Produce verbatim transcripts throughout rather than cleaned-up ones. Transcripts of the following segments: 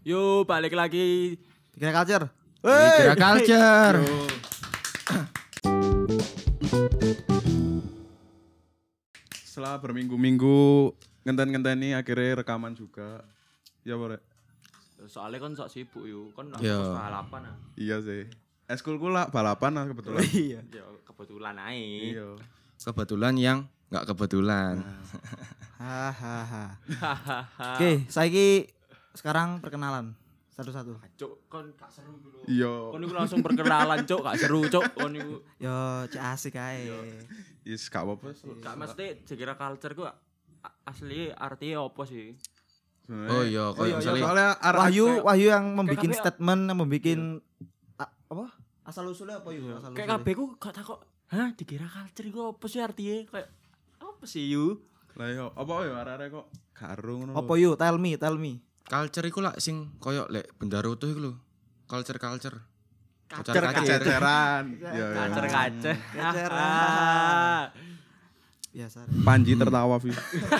Yo, balik lagi Dikira culture. Dikira culture. Setelah berminggu-minggu ngenten-ngenteni akhirnya rekaman juga. Ya boleh. soalnya kan sok sibuk yo, kan aku Yo. balapan ah. Iya sih. Eskulku lah balapan lah kebetulan. Iya. Yo, kebetulan ae. Iya. Kebetulan yang nggak kebetulan. Hahaha. Oke, saiki sekarang perkenalan satu-satu. Cuk, kon gak seru dulu. Iya. Kon iku langsung perkenalan, Cuk, gak seru, Cuk. Kon iku Yo, cek asik ae. Is gak apa-apa. gak mesti dikira culture ku a- asli artinya apa sih? Sebenarnya- Oh iya, Oh kalau iya, misalnya Soalnya ar- Wahyu, kayak- Wahyu yang membuat kayak- statement, yang membuat apa? Asal usulnya apa yuk? Asal Kayak kabeh ku gak takok, "Hah, dikira culture iku apa sih artinya?" Kayak apa sih yu? Lah yo, apa yo arek-arek kok karo ngono. Apa yuk? Tell me, tell me. culture iku lah sing koyo lek benda utuh iku lho. Culture culture. Kacer Kacer. Ceceran. Iya, iya. Kacer kacer. Kaceran. Biasa. Panji tertawa, Vi.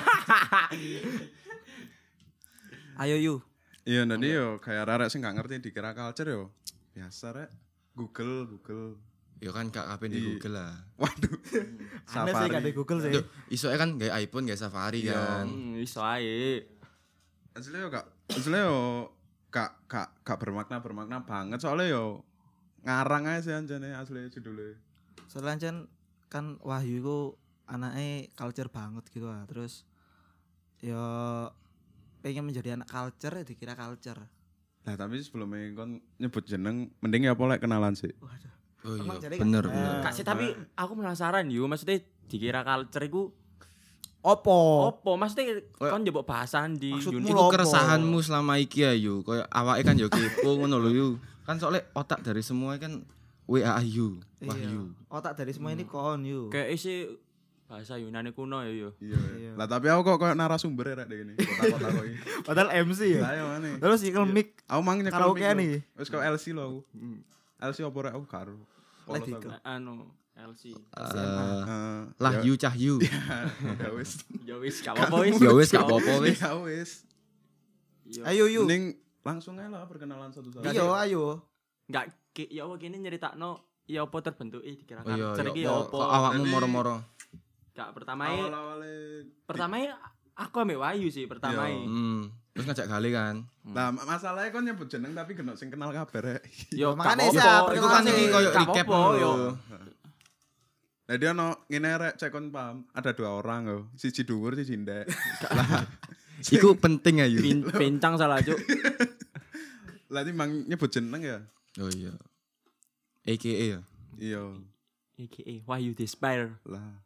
Ayo yu. Iya, nanti yo kayak arek sing gak ngerti dikira culture yo. Biasa rek. Google, Google. Ya kan gak kabeh di Iya. Google lah. Waduh. Aneh sih gak ada Google sih. Duh, isoke kan gawe iPhone, gawe Safari Iya. kan. Hmm, iso ae. Asli yo gak asli yo gak gak gak bermakna bermakna banget soalnya yo ngarang aja sih anjane asli judulnya. Soalnya kan kan Wahyu itu anaknya culture banget gitu lah. Terus yo pengen menjadi anak culture ya dikira culture. Nah tapi sebelumnya kon nyebut jeneng mending ya apa lek kenalan sih. Waduh. Oh Emang iya, jadi bener kan- bener. Eh. Kak sih tapi aku penasaran yo, maksudnya dikira culture iku Opo? opo? Maksudnya kon njebok bahasan di Maksudmu Yuni. lho? Iku Apa? keresahanmu selama iki ya yu, koyo awake kan yo kepo ngono lho yu. Kan soalnya otak dari semua kan W A Yu, Iya. Wahyu. Otak dari semua ini kon yu. Kayak isi bahasa Yunani kuno ya yo. Iya. Iya. Lah tapi aku kok kayak narasumber ya rek dek ini. Kota-kota kok iki. Padahal M C ya. Lah yo mana? Terus ikel mic Aku mang nyekel karaoke mic lho. nih. Wis kok L C lo aku. L C opo rek aku karo. Lah, Polos aku. dikel. Anu L C. Eh, Eh, lah ya- yu cahyu. Ya wis. Ya wis gak apa-apa wis. Ya wis gak apa-apa wis. Ya wis. Yo. Ayo yu. Mending langsung aja lah perkenalan satu-satu. Iya ayo. Enggak ki ya apa kene nyeritakno ya apa terbentuk eh dikira Oh iya, culture iya, iki iya. ya Kok apa. awakmu Jadi- moro-moro. Gak pertama Awal-awale pertama aku ambek Wahyu sih pertama Iya. Hmm. Terus ngajak kali kan. Nah, ma- masalahnya kon nyebut jeneng tapi genok sing kenal kabeh rek. Yo Makanya gak sih, apa-apa. perkenalan Iku kan sih. iki koyo Gak recap apa-apa, yo. lho. Nah dia ono ngene rek cek kon paham. Ada dua orang loh. Siji dhuwur, siji ndek. Iku penting ayu. Pin, pincang salah cuk. Lah timbang nyebut jeneng ya. Oh iya. A K A ya. Iya. A K A Wahyu Despire. Lah.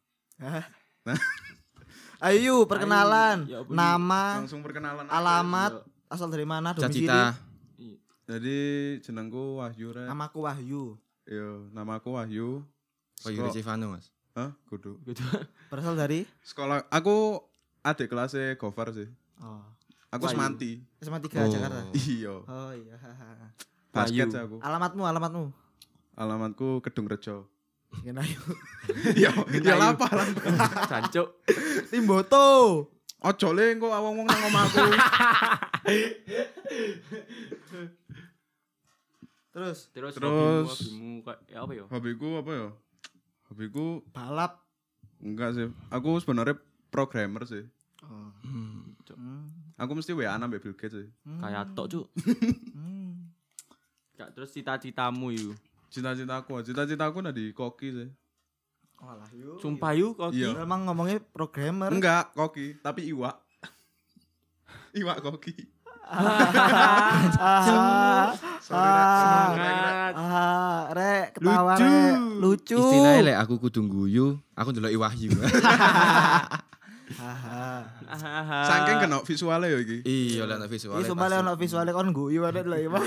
Ayo yu perkenalan. Ayo, ya apa, Yu? Nama, Langsung perkenalan aja. alamat, asal dari mana, domisili. Cita-cita. Jadi jenengku Wahyu rek. Namaku Wahyu. Iya, namaku Wahyu. Wahyu Seko- Recivano mas. Hah? Kudu. Gitu. Berasal dari Sekolah aku adik kelasnya Gofar sih. Oh, Aku Wahyu. semanti. S M A tiga Oh. Jakarta. Iya. Oh iya. Basket Wahyu. sih aku. Alamatmu, alamatmu. Alamatku Kedung Rejo. Ingin ayo. Iya, iya lapa lah. Jancuk. Timboto. Ojo le engko awong-wong nang omahku. Terus Terus, Terus- hobimu, hobimu kayak ya apa ya? Hobiku apa ya? Hobiku balap. enggak sih. Aku sebenarnya programmer sih. Oh. Hmm. Hmm. Aku mesti W A-an ambek Bill Gates sih. Hmm. Kayak tok cuk. Hmm. Gak terus cita-citamu yu. Cita-citaku, cita-citaku nah di koki sih. Oh lah yuk. Sumpah yu kok. Iya. Memang ngomongnya programmer. Enggak, koki, tapi iwak. Iwak koki. Ah, Sorry, Rek. Sorry, Rek. Semangat. ah, rek, ketawa Lucu. rek, lucu. Istilahnya lek aku kudu guyu, aku ndelok Wahyu. Haha. Hahaha. Saking kena visualnya ya iki. Iya lek ana visual. Ini sumpah lek ono visualnya kon guyu ada lho ya.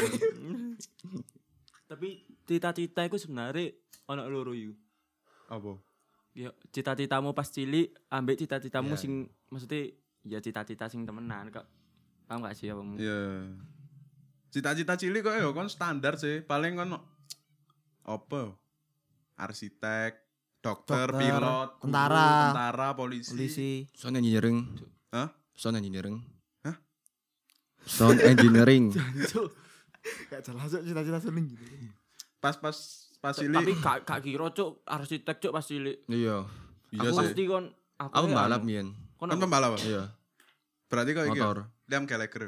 Tapi cita-cita iku sebenarnya ono loro yu. Apa? Ya cita-citamu pas cilik ambek cita-citamu Iya. sing maksudnya ya cita-cita sing temenan kok. Paham gak sih apamu? Iya. Cita-cita cilik kok ya kon standar sih. Paling kon apa? Arsitek, dokter, Dokter, pilot, guru, tentara. tentara, polisi. Polisi. Sound engineering. Hah? Sound engineering. Sound engineering. Cuk. Gak jelas Cuk, cita-cita seneng gitu. Pas pas pas cilik. Tapi gak gak kira cuk arsitek cuk pas cilik. Iya. Iya Aku sih. pasti kon Aku ya balap anu. mien. Kon Kan apa? pembalap. Iya. Berarti kok iki. Motor. Liam Gallagher.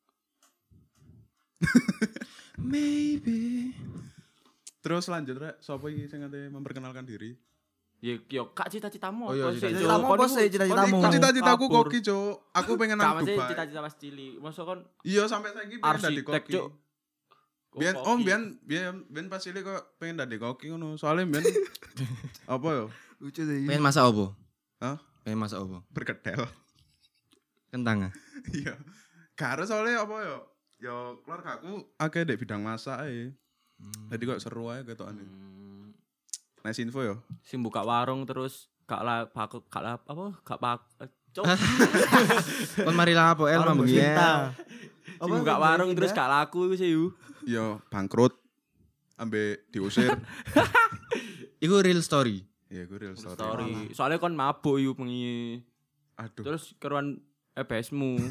Maybe. Terus lanjut rek, sapa iki sing ate memperkenalkan diri? Ya yo kak cita-citamu Oh, iya, apa sih, cita-citamu Cuk? apa Kon sih, iku- cita-citamu? kon Kok iku cita-citaku kabur. koki, Cuk. Aku pengen Gak nang maksudnya Dubai. cita-cita pas cilik. Masa kon Iya, sampai saiki pengen dadi arsitek koki. cuk. Biyen Kok om koki? biyen biyen biyen pas cilik kok pengen dadi koki ngono. Soalnya biyen apa yo? Lucu deh. Pengen masak apa? Hah? Pengen masak apa? Berkedel. Kentang ah. Iya. Gak harus soalnya apa yo? Yo keluarga aku akeh dek bidang masak ae. Jadi kok seru ae ketokane. Hmm, Nice info yo. sing buka warung terus gak lah paku gak lah apa gak pak eh, cuk. Kon mari lah apa el Orang mambung cinta. Sing buka warung terus gak laku iku sih yu. Yo bangkrut ambe diusir. Iku real story. Iya, gue real story. Story. Soalnya kon mabuk yu pengi. Aduh. Terus keruan E B S-mu.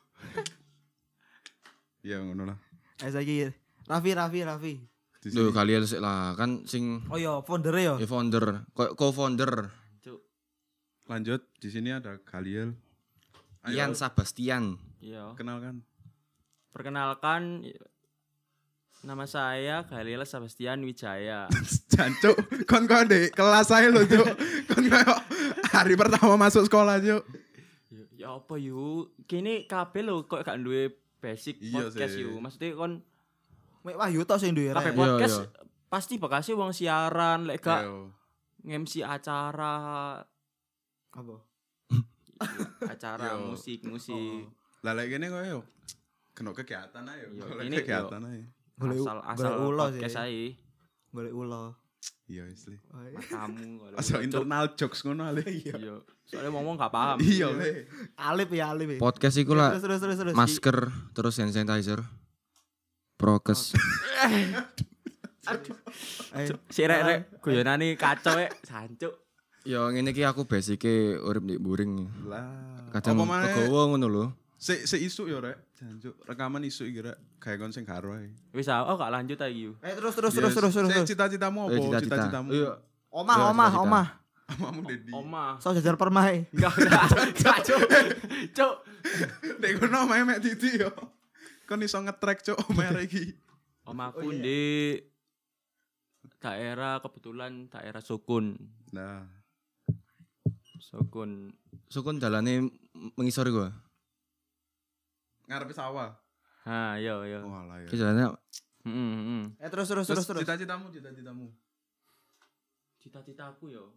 Iya ngono lah. Eh saiki Raffi Raffi Raffi. Di Duh sini. kalian sih lah kan sing Oh iya, founder ya. ya founder, ko- co-founder Cuk. Lanjut, di sini ada Galiel. Ayo, Ian Sebastian. Iya. kenalkan. Perkenalkan nama saya Galiel Sebastian Wijaya. Jancuk, kon kon dek kelas saya lo Cuk. Kon kayak hari pertama masuk sekolah Cuk. ya, ya apa yu? Kini kabeh lho kok gak duwe basic Iya podcast sih. yu. Maksudnya kon Mek Wahyu tok sing duwe kabeh rek. Iya, podcast iya. pasti bekasnya wong siaran lek gak Ayo. nge-M C acara Apa? acara Yo. musik musik Lah lek kene kok yo. Kena kegiatan ae yo. Yo, Golek ini kegiatan ae. Golek- asal golek asal ulo sih. podcast ae Golek ulo. Iya wis le. matamu kalau Asal cuk. internal jokes ngono ale. Iya soalnya ngomong gak paham Iya le. Alip ya Alip. ya. Podcast iku lah Terus terus terus terus. masker terus hand sanitizer. Prokes. Ayo. si rek rek guyonane kacau e sancuk Ya ngene iki aku basike urip di buring. Lah. Kadang Apa maneh kegawa ngono lho. se se isu yo rek. Jancuk, rekaman isu iki rek. Kayak kon sing karo ae. wis ah, oh gak lanjut lagi yu Eh terus terus Yes. terus terus terus. Se terus. Cita-citamu apa? Eh, cita-cita. Cita-citamu. Iya. Omah Iya, omah cita-cita. omah. Amamu Dedi. oma So jajar permai. enggak enggak enggak cuk cuk Nek kono omahe mek Didi yo. Kon iso nge-track Cuk omahe arek iki. omaku di daerah kebetulan daerah Sukun Nah, Sukun Sukun dalane mengisor iku. ngarepe sawah. ha yo yo Walah ya. Ki dalane heeh heeh Eh terus terus terus terus. Cita-citamu, cita-citamu. cita-citaku yo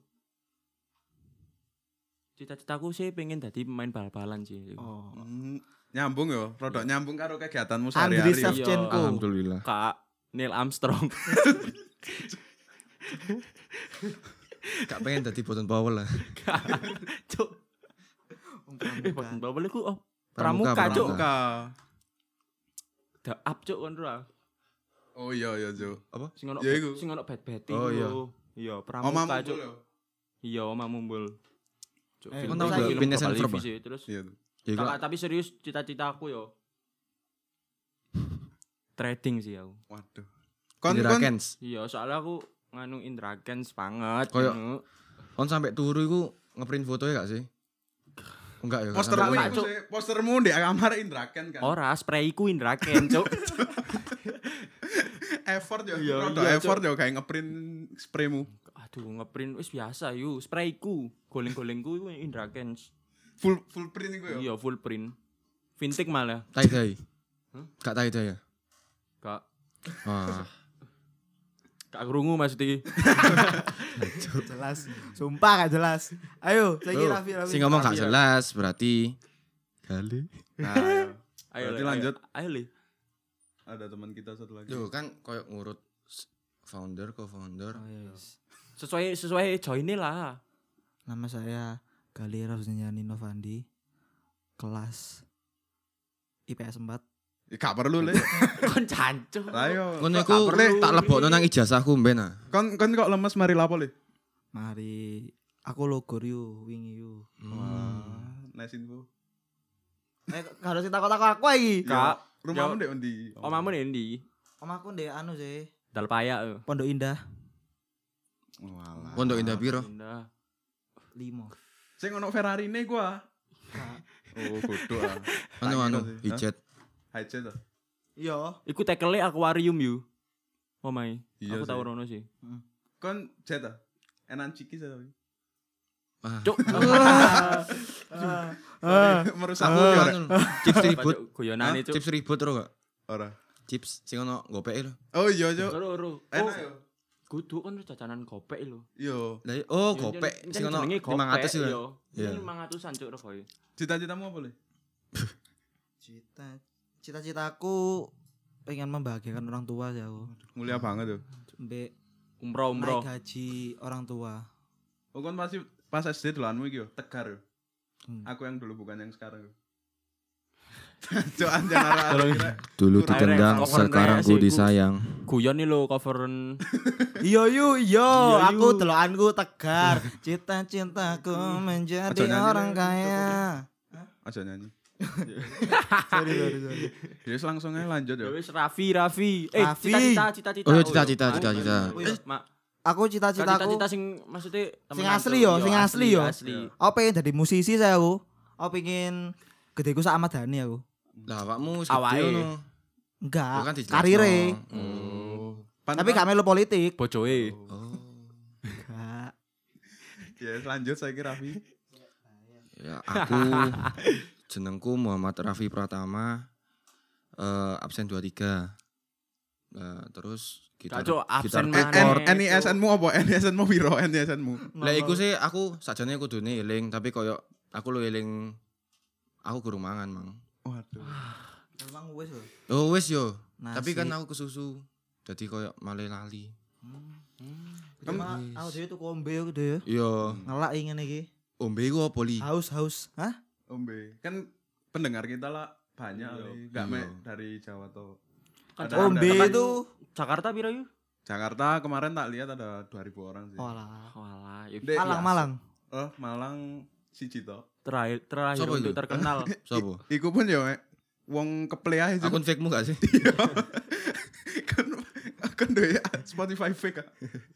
cita-citaku sih pengen jadi pemain bal-balan sih Oh. Hmm, nyambung yo, rodok nyambung karo kegiatanmu Andriy sehari-hari. Shevchenko. alhamdulillah. Kak Neil Armstrong Gak pengen dadi Boten Powell lah. cuk eh Pramuka. boten bawel iku oh Pramuka, pramuka cuk pramuka. Pramuka. da up cuk kon ra Oh iya iya, Cuk. Apa? sing ono Ya iku. sing ono bed-bed Oh, iya. iya Omamu pramuka cuk yo. iya oma mumbul cuk Eh, film kau tahu film gak Phineas and Global Ferb, T V sih terus Iya. tuh. Ya iku. Kakak, tapi serius cita-citaku yo trading sih aku Waduh. Kon Indra kon Kens. iya soalnya aku nganu Indra Kens banget Koyo- ngono. Kon sampai turu iku ngeprint fotonya gak sih? Enggak ya. gak postermu sampai- Enggak, iku Cuk. sih, postermu di kamar Indra Ken kan. ora sprayku Indra Kens cuk Effort yo, Iya, rodok iya, effort yo kayak ngeprint spraymu. aduh ngeprint wis biasa yuk sprayku goleng-golengku iku Indra Kens Full full print iku yo. iya full print vintage malah tie dye. Hah? Gak tie dye ya? gak Wah. gak krungu maksudnya Jelas. Sumpah gak jelas. Ayo, saiki Tuh, Raffi Raffi. Si ngomong gak Raffi ya. jelas berarti kali. Nah, ayo. ayo Berarti Le, lanjut. ayo, ayo li Ada teman kita satu lagi. Yo kan koyo ngurut s- founder, co-founder. Oh, iya. sesuai sesuai join lah Nama saya Galira Husniani Novandi. Kelas I P S empat. Ya, gak perlu le. kon cancuk Lah yo. Ngono Kok iku gak perlu? tak lebokno nang ijazahku mben ah. Kon kon kok lemes mari lapo le? Mari aku logor yu wingi yu. Wah, nice info. Nek harus takut-takut aku iki. Kak, Rumahmu ndek endi? omamu ndi? Omahku ndek anu sih, Dal payak. Pondok Indah Walah. Pondok Indah piro? Indah. lima. Sing ono Ferrari-ne gua. Oh, bodoh ah. Anu anu Tak kira sih. hijet. Hijet ah. Iya. Iku tekele akuarium yu. Omae. Iya Aku sih. tau rono sih. Kon jet ah. Enan ciki saya tapi. Wah. Cuk. Merusak aku ora. Anu, chips ribut. Guyonane cuk. Chips ribut ro gak? Ora. Chips sing ono gopeke lho. Oh iya, Cuk. Oro oro. Enak yo. Kudu kan jajanan gopek lho. Iya. Lah oh gopek sing ono lima ratus yo. lho. Iya. Iya. lima ratusan cuk regoe. Cita-citamu apa, Le? Cita cita-citaku pengen membahagiakan orang tua sih aku. Mulia banget yo. Mbek Umroh umroh. naik gaji orang tua. Oh kan pasti pas S D dolanmu iki yo, Tegar yo. Hmm. Aku yang dulu bukan yang sekarang yo. Cuk anjan arah. Dulu Kurang. ditendang, Akhirnya, sekarang cover ku nya disayang. Guyon nih lo coveren. Iya yu iya, Iya, aku yu. delokanku Tegar. Cita-citaku menjadi Aja nyanyi, orang Le. kaya. Aja nyanyi. Sorry sorry sorry. Jadi langsung aja lanjut Ya yo. wis Raffi Raffi. Eh Raffi. cita-cita cita-cita. Oh, iya. cita-cita, Mak, cita-cita. mak, mak, mak. Aku cita-citaku Cita-cita sing maksudnya Sing temenan, asli Cuk. yo, Iya, sing asli yo. Asli. aku pengen jadi musisi saya aku. Aku pengen gedeku sak Ahmad Dhani aku. Lah awakmu Awake. gede ngono. Enggak, Lu kan dijelasno. karire. Oh. Pan- Tapi gak melu politik. Bojoe. Oh. Enggak. Ya lanjut saya kira Raffi. Ya aku jenengku Muhammad Raffi Pratama. Eh absen dua puluh tiga. Nah, terus gitar Kacau, absen gitar mana? keyboard. N- N I S N-mu apa? N I S N-mu piro? N I S N-mu. Lah iku sih aku sajane kudune eling tapi koyo aku lu eling aku guru mangan, Mang. Waduh. Memang wis lho. Oh wis yo. Nasi. Tapi kan aku kesusu. Jadi koyo male lali. Kan aku dhewe tuku ombe aku dhewe. Iya, Ngelak ingin iki. ombe iku apa li? Haus haus. Hah? Ombe. Kan pendengar kita lah banyak Iya. Le. Gak Iya. mek dari Jawa tuh. Kan Ada- Ombe ada- itu Jakarta piro yuk? Jakarta kemarin tak lihat ada dua ribu orang sih. walah. Walah, ya Dek, Malang biasa. Malang. Oh, Malang siji to. Terakhir terakhir Sopo untuk itu? terkenal. Sopo? Iku pun ya mek wong keplay ae. Akun fake-mu gak sih? kan kan dhewe Spotify fake ah.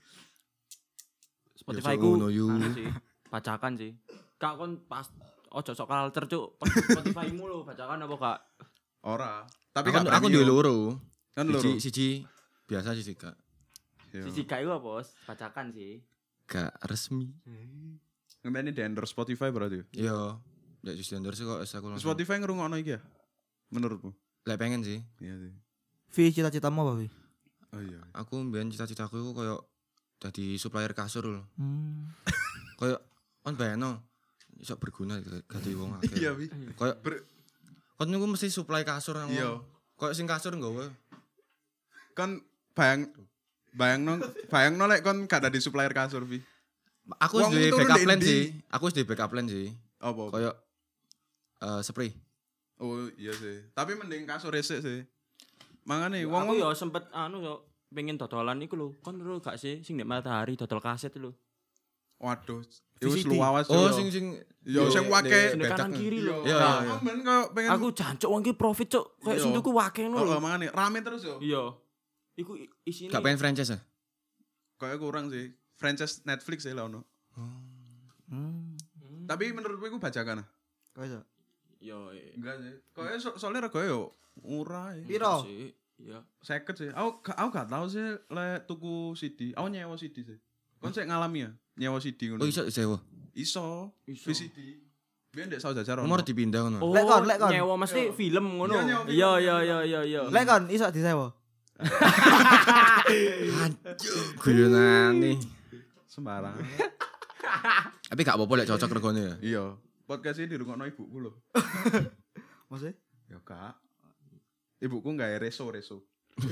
Spotify Ya, ku ngono, yu. anu sih, bacakan sih. Kak kon pas ojo sok culture cuk. Spotify-mu lho bacakan apa kak? Ora. Tapi Aku gak aku duwe premium. loro. Kan loro. Siji siji biasa siji gak. Iya. Sisi kak iku apa? Bos? Bacakan sih. Gak resmi. Ngenteni di endorse Spotify berarti. Iya. Lek just endorse kok wis aku langsung. Spotify ngrungokno iki ya? Menurutmu? Lek pengen sih. Iya sih. Vi cita-citamu apa Vi? Oh iya. Aku mbiyen cita-citaku iku koyo dadi supplier kasur lho. Hmm. Koyo kon bayangno iso berguna gadi wong akeh. Iya, Wi. Koyo Ber- kon niku mesti supply kasur nang Iya. wong. Koyo sing kasur nggawa. Kan bayang bayangno bayangno lek kon gak dadi supplier kasur, Vi. Aku wis Wong duwe turun backup di plan endi? sih. Aku wis duwe backup plan sih. Apa? Koyo eh spray. Oh iya sih. Tapi mending kasur resik sih. Mangane Wong wong aku ya sempet anu yo pengen dodolan iku lho. Kon lho gak sih sing nek matahari dodol kaset lho. waduh, V itu C D. luawas Oh yo. sing sing Yo, yo, sing di- wake di kanan bedak. kiri lho. Iya, Nah, iya. aku ben kok pengen Aku jancuk wong ki profit cuk. Kayak Iya. sing tuku wake Oh, ngono oh, lho. mangane rame terus yo. Iya. Iku i- isine Gak pengen franchise ya? Kayak kurang sih. Franchise Netflix ya lah ono. Hmm. Tapi menurutku iku bajakan. ah. Kok iso? Yo. eh, Enggak sih. Kayak so, soalnya regane yo murah ya. Piro? sih. Iya. Seket sih. Aku gak aku gak tahu sih lek tuku C D. Aku nyewa C D sih. Kon sik ngalami ya nyewa C D ngono. Oh iso sewa. Iso. Iso. V C D. Biyen ndek Saus Jajar ono. Umur dipindah ngono. Oh, Lek kon, lek kon. nyewa mesti Iya. film ngono. Iya, nyewa film. Iya iya iya iya iya. Lek kon iso disewa. Guyonane. Sembarang. Tapi gak apa-apa lek cocok regane ya. Iya. Podcast ini dirungokno ibuku lho. Maksudnya? Ya kak. Ibuku gak reso reso.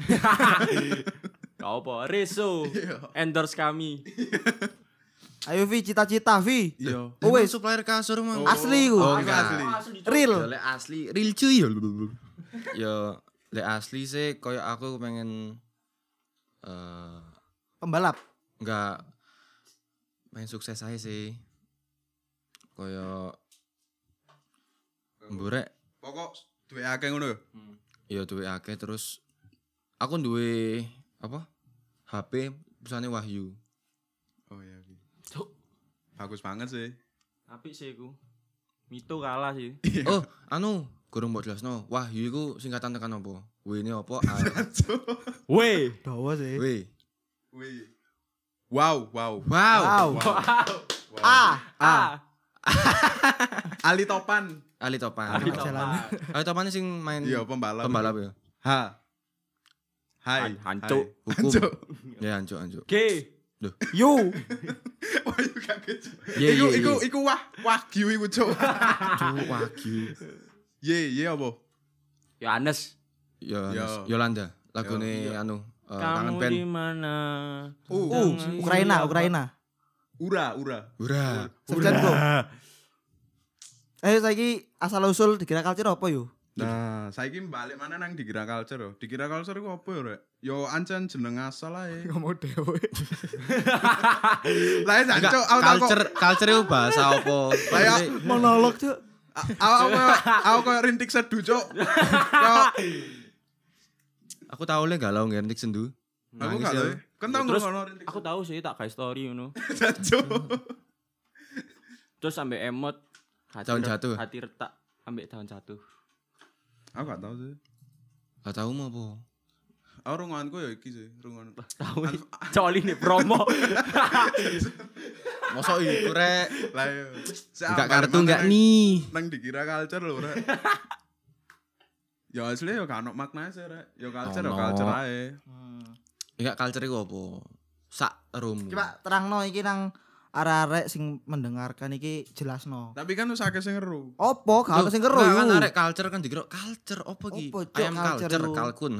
Gak apa, Reso. Endorse kami. Ayo Vi cita-cita Vi. Iya. Oh, Wes wes. supplier kasur mang. Asli ku. Oh, Aku enggak. asli. Real. Ya lek asli, real cuy ya. Ya lek asli sih koyo aku pengen eh Pembalap. enggak main sukses aja sih. Koyo mburek Pokok duwe akeh ngono ya. Ya duwe akeh terus aku duwe apa? H P perusahaane Wahyu. Oh iya. iya. Cuk, Bagus banget sih. apik sih iku. Mito kalah sih. Oh, anu, gurung mbok jelasno. Wahyu iku singkatan tekan apa? W ini apa? A. Weh. Dawa sih. W. Wih. Wow, wow. Wow. Wow. Wow. Ah, Ah. Ali Topan. Ali Topan. Ali Jalan. Topan. Ali Topan sing main Iya, pembalap. pembalap ya. Ha. Hai. Han- hancuk. Hai. Hukum. Hancuk. Ya hancuk hancuk. G. You. Wah, iku kaget. Ye, Iku ye, iku ye. iku wah wagyu iku, Cuk. Cuk Wahyu. Ye, ye apa? Yohanes. Ya Yo. Yolanda. Lagune anu eh, kangen Kamu band. di mana? Uh, Uh, Ukraina, Ukraina. Ura, ura. Ura. Sebentar, Bro. Eh, saiki asal usul dikira culture apa yo? Nah, saiki balik mana nang dikira culture yo. Dikira culture iku apa yo, Rek? Yo ancen jeneng asal ae. Ngomong dhewe. Lah ya Enggak, jancuk, aku tak kok culture culture itu bahasa apa? Kayak Monolog, Cuk. aku aku aku koyo rintik seduh, Cuk. Kok Aku tahu le galau ngertik sendu. aku Nangis gak ya. tahu. Kan tau Terus ngono rintik. aku tahu sih tak kayak story ngono. Jancuk. Terus sampai emot hati Daun re- jatuh. Hati retak ambek daun jatuh. Aku gak tahu sih. Gak tahu mau apa. Aku runganku ya iki sih, rungan. Tahu nih. Coli nih promo. Mosok iku rek. Lah yo. Enggak kartu enggak nih. Nang dikira culture lho, Rek. Ya asli yo gak ono maknane sih, Rek. Yo culture yo Ono. culture ae. Enggak culture iku apa? Sak room. Coba terangno iki nang arek-arek sing mendengarkan iki jelasno. Tapi kan wis akeh sing ngeru. Opo gak ono sing kero Kan yo. arek culture kan dikira culture apa iki? Apa, Cuk, Ayam culture culture lu? kalkun.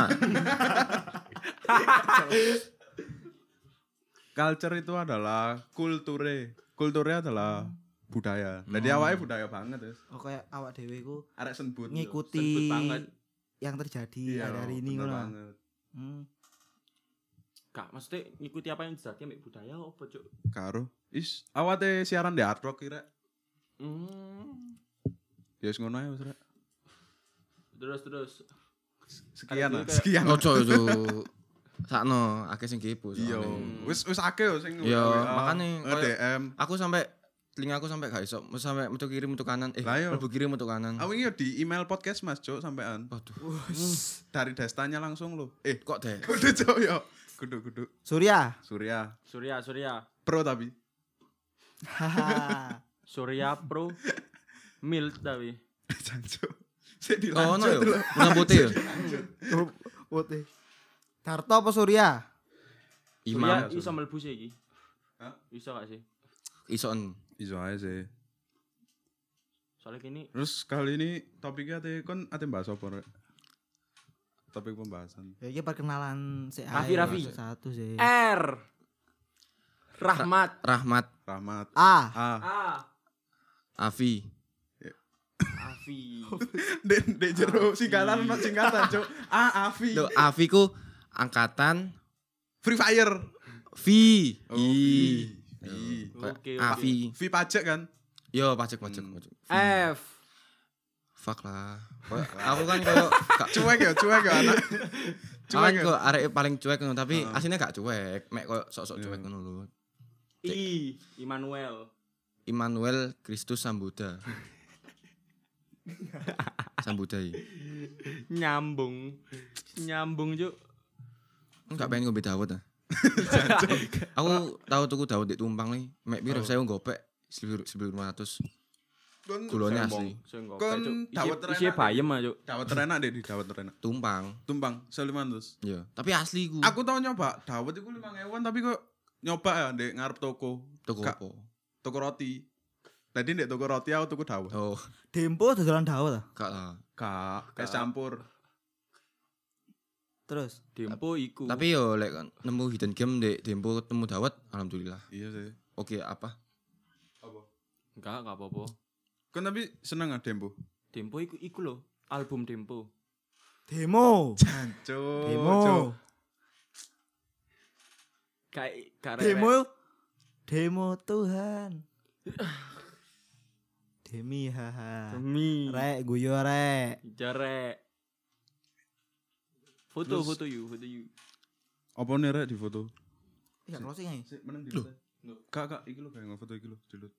Culture itu adalah kulture. Kulture adalah budaya. Jadi awake budaya banget, Wis. Oh kayak awak dhewe iku Arek senbut. ngikuti Senbut banget. yang terjadi Iya, hari ini bener ngono. banget. Hmm. Kak, maksudnya ngikuti apa yang terjadi ambek budaya apa, Cuk? Karo. Is, awate siaran di Hard Rock kira. Hmm. Ya wis ngono ae wis, Rek. Terus terus. Sekian lah, Kayak- sekian. Ojo ojo. Sakno akeh sing kepo. Iya, soalnya. wis wis akeh yo sing Iya, W A, makane eh, koyo- D M. Aku sampai telinga aku sampai gak iso, mesti sampai metu kiri metu kanan, eh Lah, iya. mlebu kiri metu kanan. Aku ini yo di email podcast Mas Cuk sampean. Waduh, Dari Destanya langsung lo. Eh, kok deh. kudu Cuk yo. Kudu kudu. Surya. Surya. Surya, Surya. Pro tapi. Haha. Surya Pro Mild tapi. Jancuk. Sik Oh, no dilanjut yo. lho. Bunga putih yo. Putih. Darto apa Surya? Surya Imam iso mlebu sih iki. Hah? Iso gak sih? ison. Iso ae sih. Soalnya gini Terus kali ini topiknya ate kon ate bahas apa, Rek? Topik pembahasan. Ya iki perkenalan si Raffi, Raffi. Satu sih. R Rahmat Rahmat, Rahmat. A. A. A Afi. Afi. Dek dek jero singkatan ono singkatan, Cuk. A Afi. Loh, Afi ku angkatan Free Fire. V. Oh, I. V. V. Kayak Oke, oke. Afi. V pajak kan? Yo, pajak pajak Hmm. pajak. F Fuck lah. Kayak aku kan koyo gak Cuek ya, cuek ya anak. Cuek Cuek ya. kok arek paling cuek ngono, tapi Heeh. aslinya gak cuek, mek koyo sok-sok Iya. cuek ngono lho. I Immanuel. Immanuel Kristus Sambuddha. Sambuddha. iki. Nyambung. Nyambung, Cuk. Enggak pengen ngombe dawet ah. Aku tahu tuku dawet di Tumpang nih, mek piro saya gopek seribu lima ratus. Kon Gulanya Sombong. asli. Sing kok, Kon Cuk. dawet Isi- terenak. Isinya bayem ah, Cuk. dawet terenak deh di dawet terenak. Tumpang. Tumpang seribu lima ratus. Iya, tapi asli ku. Aku tau nyoba dawet iku lima ribuan tapi kok nyoba ya ndek ngarep toko. tuku Kak. apa? Toko roti. Tadi ndek toko roti aku tuku dawet. Oh, Dempo dodolan dawet ta? gak lah. Kak, es Kak. campur. Terus Dempo iku. Tapi yo lek kan nemu hidden game di Dempo ketemu dawet, alhamdulillah. Iya sih. Oke, apa? Apa? enggak, enggak apa-apa. Kon tapi seneng gak Dempo? Dempo iku iku lho, album Dempo. demo. Cuk. Demo. Cuk. Kayak kayak Demo. Demo Tuhan. Demi haha. Demi. Rek guyo rek. Jarek. Foto Terus- foto you, foto you. Apa nih rek di foto? Iya closing ae. Sik meneng di. Kak kak iki lho kayak foto iki lho, dilut.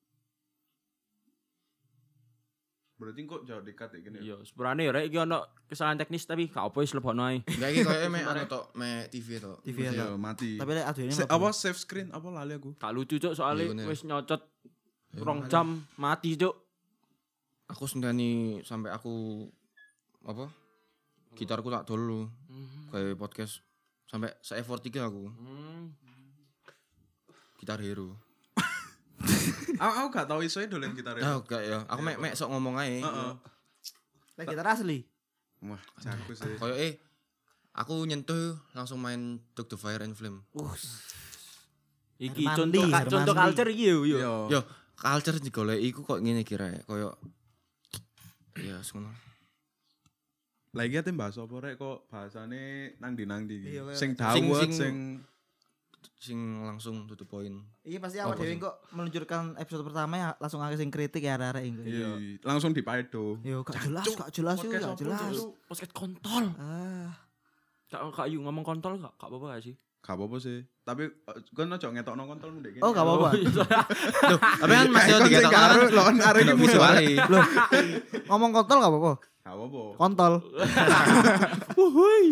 Berarti kok jauh dekat ya gini. Iya, sebenarnya rek iki ono kesalahan teknis tapi gak apa wis lebokno ae. Enggak iki koyo mek anu tok, mek T V tok. T V ya. Iya, mati. Tapi lek aduh ini Se- apa save screen apa lali aku. Gak lucu cuk soalnya Iya, bener. wis nyocot Ya, rong makanya. jam mati cuk. Aku sendiri sampai aku apa? Gitarku tak dulu kayak podcast sampai se effort tiga aku Hmm. gitar hero. Aku aku gak tau isoe dolen gitar ya. Ah enggak ya, aku mek mek sok ngomong ae. Heeh. Lek gitar asli. Wah, jago sih. Koyo eh aku nyentuh langsung main Dog the Fire and Flame. Uh. Iki Hermandi, contoh ka- Hermandi. contoh culture iki yo yo. Yo. Yo, culture digoleki iku kok ngene kira koyo ya ngono. Lagi ate bahas apa rek kok bahasane nang di nang di. Iya, kayak- Sing Sing- dawet sing- sing Sing langsung to the point. Iya pasti awak Apa dhewe sih? kok meluncurkan episode pertama ya langsung akeh sing kritik ya arek-arek iku. iya, langsung dipaedo. Yo gak jelas, gak jelas yo, Podcast gak apa, jelas. Cuk? Podcast kontol. Ah, Kak kak you ngomong kontol gak gak apa-apa gak sih? Gak apa-apa sih. Tapi eh, kan ojo ngetokno kontol ndek kene. Oh, gak apa-apa. Loh, tapi kan masih Kon sing diketok karo kan. lon arek iki musuh. visuale. Loh, ngomong kontol gak apa-apa. Gak apa-apa. Kontol. Wuhui.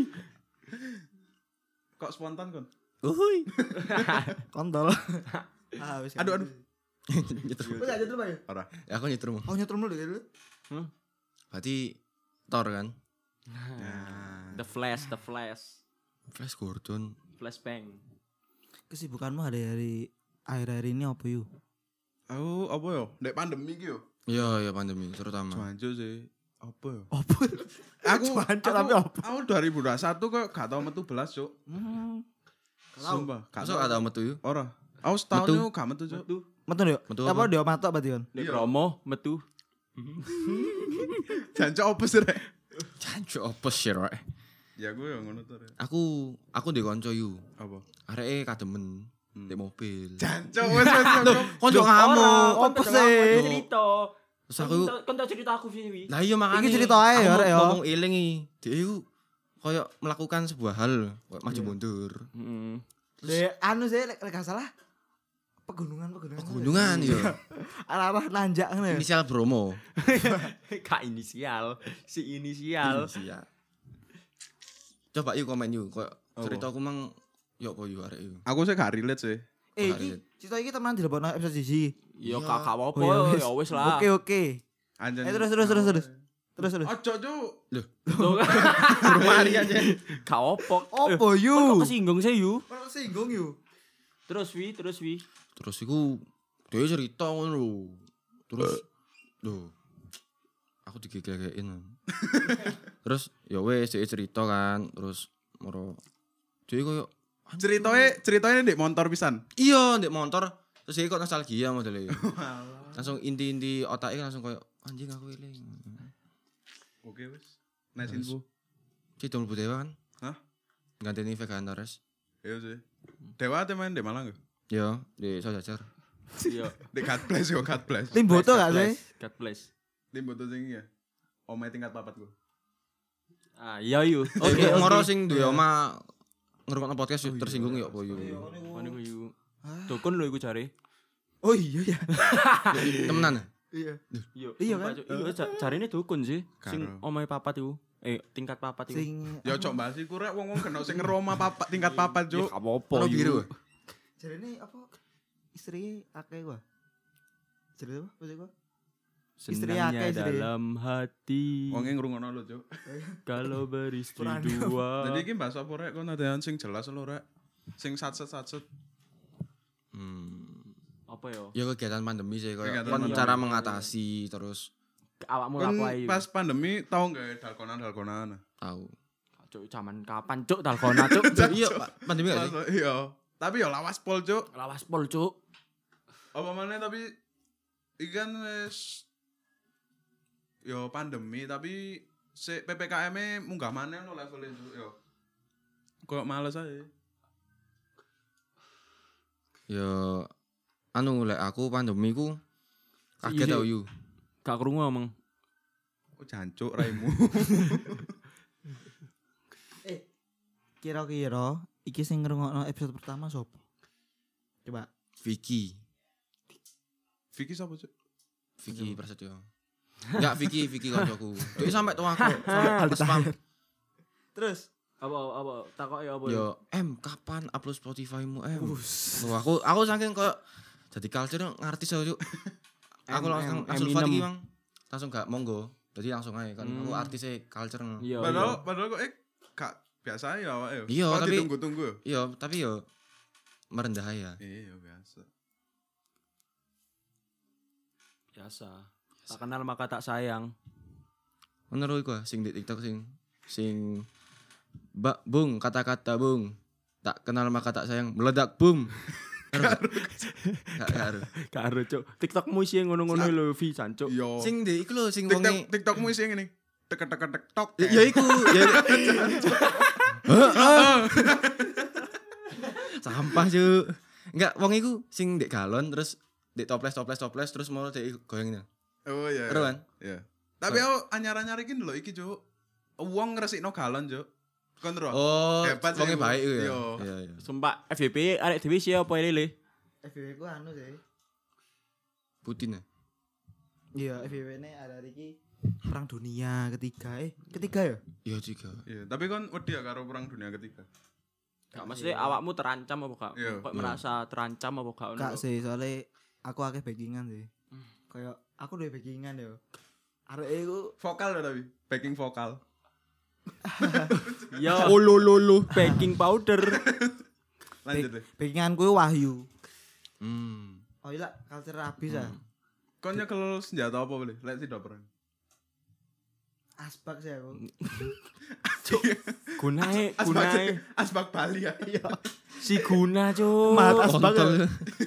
Kok spontan kon? Wuhui. Kontol. Ah, wis. Aduh aduh. Nyetrum. Wis aja dulu, Pak. Ora. Ya aku nyetrum. Oh, nyetrum dulu dulu. Berarti Thor kan. Nah. The Flash, The Flash. Flash Gordon. Flashbang. Kesibukanmu hari-hari akhir-akhir ini apa yuk? Aku apa yo? Ndek pandemi iki yo. Iya, ya pandemi terutama. Cuanjo sih. Apa yo? Apa? Aku Cuanjo aku- tapi apa? Aku dua ribu dua puluh satu kok gak tau metu belas, Cuk. Hmm. Sumpah, gak Masuk ada metu yuk. Ora. Aku setahun Metu. itu gak metu, Cuk. Metu. Metu yo. Metu Apa apa? dia matok berarti kon? Di Iya. promo metu. Jancok apa sih, Rek? Jancuk apa sih, Rek? Ya gue yang ngono tuh, Rek. Aku aku ndek kanca yu. Apa? Areke kademen ndek mobil. Jancok wes wes. wes. Konco ngamuk. Apa sih? Cerita. Terus aku Kon tau cerita aku sih wi. Lah iya makanya Iki cerita ae ya, aku Rek, ya. ngomong eling iki. Dia iku koyo melakukan sebuah hal, koyo maju mundur. Heeh. Dek anu sih lek lek gak salah pegunungan pegunungan. Gunungan ya. Arah-arah nanjak ngono ya. Inisial Bromo. Kak inisial, si inisial. Inisial. Coba yuk komen yuk, koyo Apa? cerita aku mang yo apa yuk arek yuk. Aku sih gak relate sih. Eh Hari iki cerita iki teman dilebokno episode siji. Yo Iya. kakak apa Oh, ya wis. ya wis lah. Oke oke. Anjen. Eh terus terus terus terus. Terus terus. Ojo, Cuk. Rumah hari aja. Kak opok. Opo Kok yu? kesinggung sih yu? Kok singgung yu? Terus wi, terus wi. Terus iku dia cerita ngono lho. Terus lho. Aku digegek-gegekin. Terus ya wes dia cerita kan, terus moro dia koyo Ceritanya ceritanya ndek motor pisan. iya ndek motor terus dia kok nostalgia modelnya. Langsung inti-inti otaknya langsung koyo anjing aku eling. Oke wes. Nice Terus. info. Cik Dol Budewa kan? Hah? Ganteni Vega Antares. Iya sih. Dewa ate main di Malang gak? Yo, di Sojajar. Iya. Di God bless yo, God bless. Tim boto gak sih? God bless. Tim foto sing ya. Omai tingkat papat gue. Ah, iya yu. Oke, Oke, moro sing duwe oma ngrungokno podcast yuk, tersinggung yo apa yo. Mana gue yu. Dukun lho iku jare. Oh iya ya. Temenan. Iya. Iya. Iya sumpah, kan? Cuk. Iya ja- jarine dukun sih. Sing Karo. omahe papat iku. Eh, tingkat papat iku. Sing Ya cok bahas iku rek wong-wong kena sing ngeroma papat tingkat papat, Ya Cuk. gak apa-apa Ono biru. yu. jarene apa istri akeh gua. Jarene apa maksud gua? Istri Senangnya akeh, istri. dalam hati. Wong ngrungokno lho, Cuk. Kalau beristri Kurang. dua. Jadi iki bahas apa rek kon adean sing jelas lho rek. Sing satset-satset. Hmm. Apa yo? Ya kegiatan pandemi sih koyo Kegiatan kon pandemi. cara mengatasi terus Awakmu Kon laku ae. pas pandemi tau gak dalkonan-dalkonan? tahu. Cuk, zaman kapan cuk dalgona cuk? Iya, Pak. Pandemi gak sih? Pas- Iya. Tapi ya lawas pol, Cuk. Lawas pol cuk. Apa mana tapi ikan wis yo pandemi tapi si P P K M-e munggah maneh lo levelnya Cuk, yo. Kok males aja. Ya anu lek aku pandemi ku kaget Iya. tau yu. Gak krungu omong. Oh jancuk raimu. Eh, kira-kira iki sing ngrungokno episode pertama sapa? Coba. Vicky. Vicky sapa cuk? Vicky Prasetyo. Enggak Vicky, Vicky kancaku. Dek sampe tua aku, sampe spam. Terus Apa apa takoki apa? Yo, M kapan upload Spotify-mu, M? Wah, aku aku saking koyo jadi culture ngartis aku, Cuk. Aku M, langsung M, langsung Eminem. iki, Bang. Langsung gak monggo. Jadi langsung aja kan aku Hmm. artisnya culture. Iya. Padahal padahal kok eh gak biasa ya awake yo. Iya, Kok tapi- ditunggu-tunggu yo. Iya, tapi yo merendah ya. Iya biasa. Biasa. Tak kenal maka tak sayang. Menurut iku ah, sing di TikTok sing sing Mbak Bung, kata-kata Bung. Tak kenal maka tak sayang, meledak boom. Gak karo. Gak ero, Cuk. TikTokmu sih ngono-ngono lho, Vi Sancuk. Yo. Sing di iku lho sing TikTok wonge TikTokmu isi ngene. Tek tek tek tok. ya ya iku ya. Sampah Cuk. Enggak, wong iku sing ndek galon terus ndek toples toples toples terus mau ndek goyang ini. Oh iya. Ero kan? Iya. Tapi aku anyar-anyar iki lho iki, Cuk. Wong ngresikno galon, Cuk. Kon ro. Oh, Hebat sih, wonge Bu. baik iku ya. Iya. Iya iya. Sumpah F Y P arek dhewe sih apa lele? F W ku anu sih. Putin ya. Iya, F W ne ada iki perang dunia ketiga. Eh, ketiga ya? Iya juga. Iya, tapi kon wedi ya karo perang dunia ketiga. Gak maksudnya awakmu terancam apa gak? Iya. Kok Iya. merasa terancam apa gak? Kak sih, soalnya aku akeh backingan sih. Kayak aku duwe backingan yo. Arek iku Vokal lho tapi, backing vokal. Ya, Oh lo lo lo. baking powder. Lanjut deh. backinganku Wahyu. Hmm. Oh iya, culture habis ah. Kon nyekel senjata apa boleh? Lek tidak perang. Asbak sih aku. Gunae, Asbak, gunae. asbak Bali ya. Iya. Si guna, Cuk. Mat asbak. Kontol.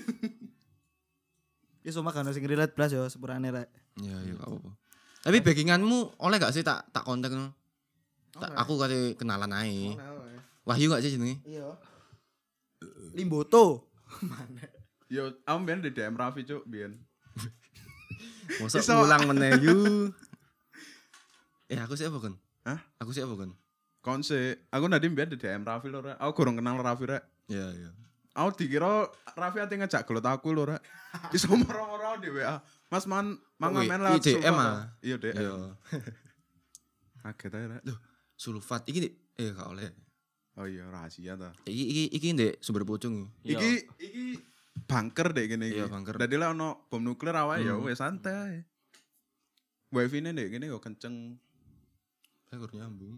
Ya semua kan sing relate blas yo sepurane rek. Iya iya gak apa-apa. Tapi backinganmu oleh gak sih tak tak kontak no? Tak, Oleh. aku kasih kenalan ae. Oleh, oleh. Wahyu gak sih jenenge? Iya. Limboto. Mana? Yo, aku biyen di D M Raffi, Cuk, biyen. Mosok Iso. ngulang meneh yu. Eh aku sih apa kan? Hah? Aku sih apa kan? Kon sih, aku nadi biyen di D M Raffi lho, Rek. Aku kurang kenal Raffi, Rek. Iya iya. Aku dikira Raffi ate ngejak gelut aku lho, Rek. Iso moro-moro di W A. Mas man mangan Oh, men i- lah. i D M ah? Iya, D M. Iya. Kaget aja, Rek. Sulfat iki Dik. eh gak oleh. Oh iya, rahasia ta. Iki iki iki ndek sumber pucung. Iya. Iki iki bunker dek gini iki. Iya, bunker. Dadi lah ono bom nuklir awake ya Hmm. wis santai. Wifi-ne dek gini yo kenceng. Saya kurang nyambung.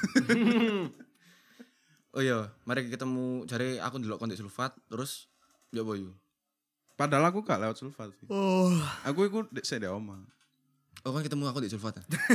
Oh iya, mari ketemu jare aku ndelok kontek sulfat terus ya apa yo? Padahal aku gak lewat sulfat sih. Oh. Aku iku dek sik dek omah. Oh kan ketemu aku di sulfat. Ya?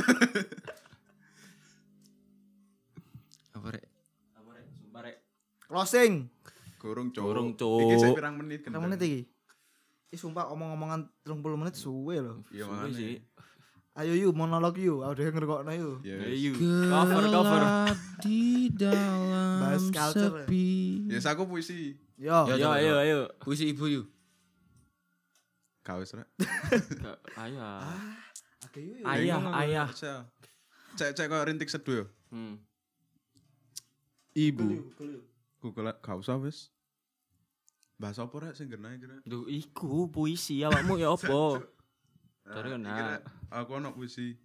Apa rek? Apa rek? Sumpah rek. Closing. Gorong cuk. Gorong, Cuk. Iki sik pirang menit Berapa menit iki? Ih sumpah omong-omongan tiga puluh menit suwe loh. Iya Suwe makane. sih. Ayo yuk monolog yuk, aku udah ngerokokno yuk. Ya Ayo. wis. Cover cover. Gelap di dalam Bahas culture. sepi. Yes aku puisi. Yo. Ya, Ayo coba, ayo coba. ayo. Puisi ibu yuk. Gak wis rek. Gak- Ayah. Oke yuk yuk. Ayah, ayah. Cek cek cek koyo rintik seduh yo. Hmm. Ibu. Google gak usah wis. Bahasa apa rek sing genahe kira? Duh, iku puisi awakmu ya apa? Cari Nah, kena. iki, Rek. Aku ono puisi.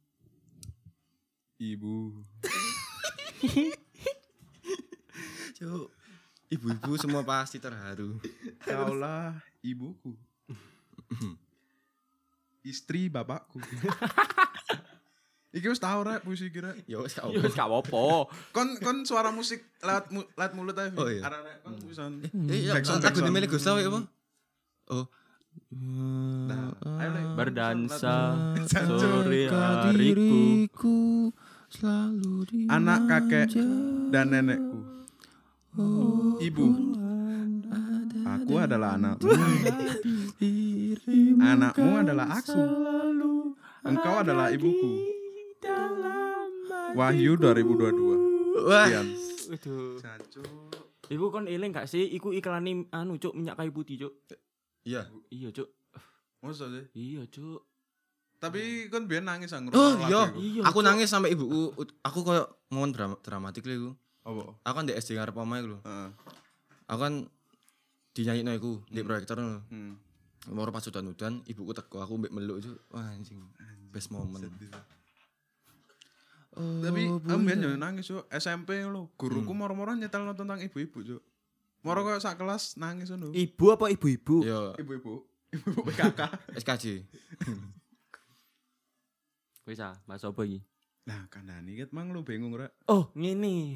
Ibu. Cuk. Ibu-ibu semua pasti terharu. Kaulah ibuku. Istri bapakku. Iki wis tau rek puisi kira. Ya wis kau. Ya wis gak apa-apa. Kon kon suara musik lewat mu, lewat mulut aja. Oh, iya. Arek-arek kon pisan. Eh, ya, Backsound, lagu backsound. Meli Gustaw ya apa? Oh. Nah, ayo Lek. Berdansa Jancuk. sore hariku. Selalu di Anak kakek dan nenekku. Ibu. Aku adalah anakmu. Anakmu adalah aku. Engkau adalah ibuku. Wahyu dua ribu dua puluh dua. Wah. Sekian. Waduh. Jancuk. Iku kon eling gak sih? Iku iklan anu cuk minyak kayu putih cuk. Iya. Iya cuk. Masa sih? Iya cuk. Tapi kan biyen nangis ang Oh ngrungokno iya, lagu iku. Iya, aku Cuk. nangis sampai ibuku, aku koyo ngomong drama, dramatik lho iku. Apa? Aku kan di S D ngarep omahe lho. Heeh. Aku kan dinyanyikno iku di proyektor lho. Hmm. Moro pas udan-udan, ibuku teko aku mbek meluk itu. Wah anjing, best moment. Oh, Tapi amben yo nangis yo S M P lho. Guruku moro-moro nyetelno tentang ibu-ibu, Cuk. Moro koyo sak kelas nangis ngono. Ibu apa ibu-ibu? Yo Ibu-ibu. Ibu P K K. S K J. Wis ah, bahas apa iki? Nah, kandhani ket mang lu bingung rek. Oh, ngene.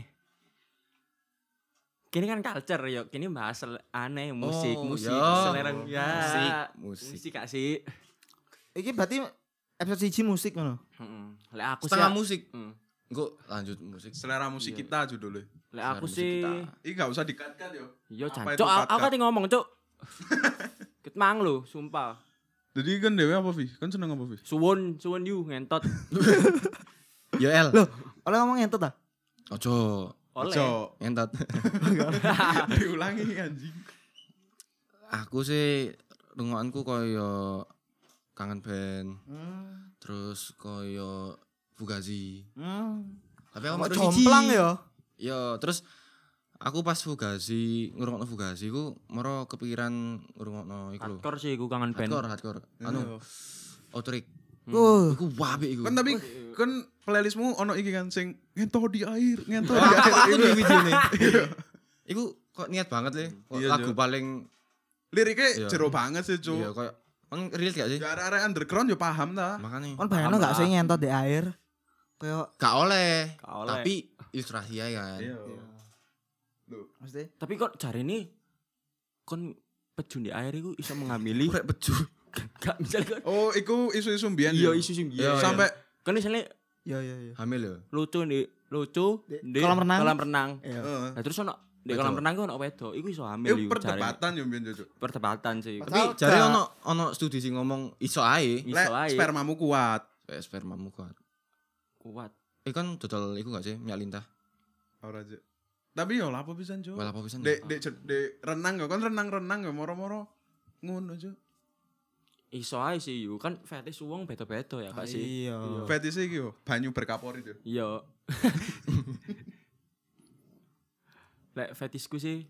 Kini kan culture yo, kini bahas sel- aneh musik, Oh, musik, yo. selera ya. Musik, musik. Musik gak sih? Iki berarti episode siji musik ngono. Heeh. Lek aku sih Setengah musik. Hmm. Engko lanjut musik. Selera musik kita judulnya. Lek aku musik sih kita. Iki gak usah dikat-kat yo. yo Apa jancuk itu aku cut-cut? aku kate ngomong, Cuk. Ket mang lho, sumpah. Jadi kan dewe apa Vi? Kan seneng apa Vi? Suwun, suwun you ngentot. Yo L. Loh, oleh ngomong entot ah? Ojo Oleh. Ojo. entot. Diulangi anjing. Aku sih rungokanku koyo kangen band, Hmm. terus koyo Fugazi. Hmm. Tapi aku Kok metu jomplang siji. ya? Yo, terus aku pas Fugazi, ngrungokno Fugazi ku moro kepikiran ngrungokno iku lho. Hardcore sih aku kangen band. Hardcore, hardcore. Anu, Outrik. Uh, Iku wapi iku. Kan tapi kan playlistmu ono iki kan sing ngento di air, ngento di aku, air. aku Itu. di video nih. Iku kok niat banget le. Kok Iya, lagu Jo. paling Liriknya Iya. jero banget sih, iya Cuk. kayak kan real gak sih? Ya arek-arek underground yo paham ta. Makanya kon bayangno Paham gak lah. sih ngentot di air? Kayak gak oleh. Gak oleh. Tapi ilustrasi aja kan. Iya. Loh, mesti Tapi kok cari ini kon pejun di air iku iso mengamili. Rek beju. Gak misalnya kan. oh, iku isu-isu mbiyen. Iya yo. isu sing Iya, iya. Sampai Kan misalnya iya iya iya. Hamil ya. lucu di lucu Di di kolam renang. Kolam renang. Iya. heeh. Nah terus ono di Wedok. kolam renang ku ono wedok, iku iso hamil Itu iku perdebatan yo mbiyen, Cuk. cari. Perdebatan sih. Pas- Tapi Padahal jare gak- ono ono studi sing ngomong iso ae. Iso Lek ae. spermamu kuat. Eh, spermamu kuat. Kuat. Eh kan total iku gak sih minyak lintah. Ora aja. Tapi yo lapo pisan, Cuk. Wala apa pisan. Dek dek jet- dek renang yo kan renang-renang yo moro-moro ngono, Cuk. Iso ae sih yuk kan fetish wong beda-beda ya Kak sih. Iya. Fetish iki yo banyu berkaporit yo. Iya. Lek fetishku sih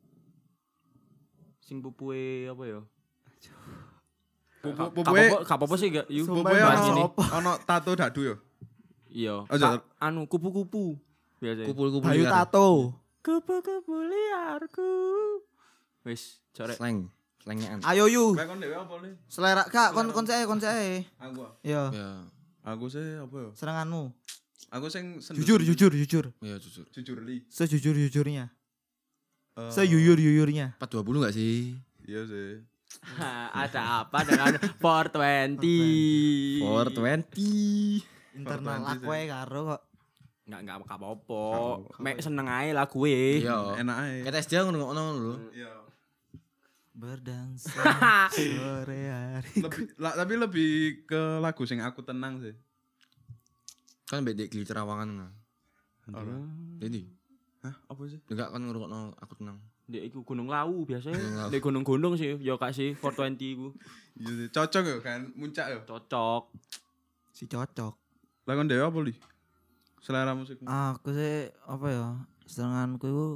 sing pupuhe apa ya? Pupu Ka- pupuhe Gak apa-apa- gak apa-apa sih gak yuk. Sumpah, pupuhe bahas Mas, ini. ono ono tato dadu yo. Iya. Aja. Ka- anu kupu-kupu. Biasa. Kupul-kupul Bayu liar. tato. Kupu-kupu liarku. Wis, corek. Slang, slangean. Ayo yu. Lek kon dhewe apa le? Selera kak kon kon saya kon saya. Aku. ah. Iya. Ya, Aku sih apa yo? Seranganmu. Aku sing sendiri. Jujur jujur jujur. ya jujur. Jujur li. Sejujur jujurnya. Eh, Seyuyur yuyurnya. empat dua puluh gak sih? Iya sih. Hah, ada apa dengan four twenty? four twenty. Internal Korban aku ae karo kok. Enggak enggak Gak apa-apa. apa-apa. Mek seneng ae lagu e. Iya. Enak ae. Kita S D ngono-ngono lho. Iya. Berdansa sore hari. Lebih la, tapi lebih ke lagu sing aku tenang sih. Kan bedek gili Terawangan. Nah. Ora. Jadi, Hah, apa sih? enggak kan ngrungokno aku tenang. Dek iku Gunung Lawu Gunung biasanya. Lawu. Dek gunung-gunung sih, ya Kak sih four twenty iku. Iya sih. Cocok yo kan, muncak yo. Cocok. Si cocok. Lah kon dhewe apa li? Selera musikmu. Aku sih apa ya? Seranganku itu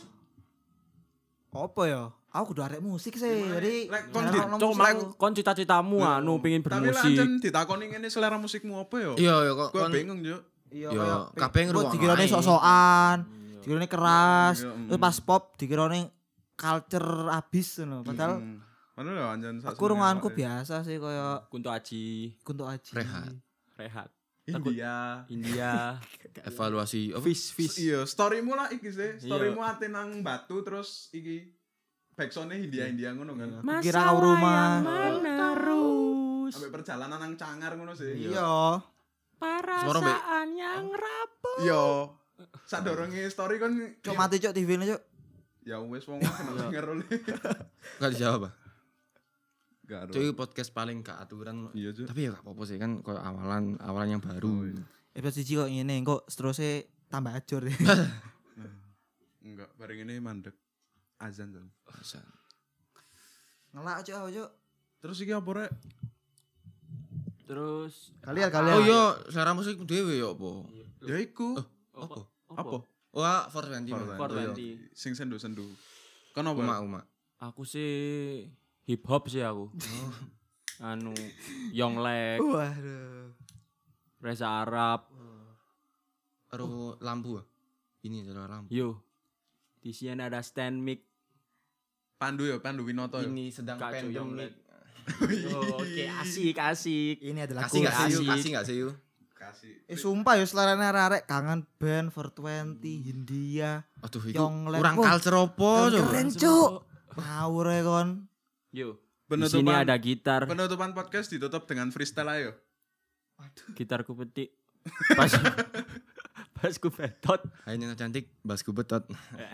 apa ya? Aku kudu arek musik sih. Gimana? Jadi Lek kon nyarano di- musik Cok mang aku. kon cita-citamu anu pengin Tapi lah bermusik. ancen ditakoni ngene selera musikmu apa yo? Iya, ya kok Gue kon bingung yo. Iya, Yo, kayak kabeh kok ngrungokno dikirane ae. sok-sokan, dikirane keras, Iya, mm. terus pas pop dikirane culture abis ngono. Padahal Hmm. Padahal yo anjen sak aku runganku biasa sih kaya Kunto Aji, Kunto Aji. Rehat. Rehat. India. India. evaluasi apa? Fish, fish. Iya, storymu lah iki sih. Storymu ate nang batu terus iki backsoundnya India-India ngono kan. Kira kau rumah. menerus. Sampai perjalanan nang cangar ngono sih. Iya. Perasaan yang rapuh. Iya. Sadurunge story kan Cok mati cok T V-ne cok. ya wis wong kena denger oleh. Enggak dijawab, Pak. Gak ada. Cuy, podcast paling gak aturan. Iya, Cuk. Tapi ya gak apa-apa sih kan kalau awalan awalan yang baru. Episode siji kok ngene, kok seterusnya tambah ajur deh. Enggak, bareng ini mandek. Azan tuh. Bisa. Ngelak cok, cok. Terus iki apa rek? Terus Kalian kalian. Oh iya, selera musik dhewe ya apa? Ya iku. Apa? Apa? Wah, four twenty. four Mas. twenty. Sing sendu-sendu. Kan apa? Uma uma. Aku sih hip hop sih aku. Anu Yonglek, Waduh. Reza Arab. Karo lampu. ah? Ini adalah lampu. Yo. Di sini ada stand mic. Pandu ya, Pandu Winoto ya. Ini sedang Kacau pandemi. Yonglek. Oh, Oke, asik asik. Ini adalah Kasih enggak sih you? Asik. Kasih enggak sih you? Kasih. Eh sumpah ya selarane arek kangen band four twenty Hindia. Aduh, itu Yonglek. kurang Wah, culture opo coba? keren cuk. Ngawur ya kon. Yo. Di Penutupan sini ada gitar. penutupan podcast ditutup dengan freestyle ayo. Gitarku petik. Pas pas ku betot. Hai Nina cantik, basku betot.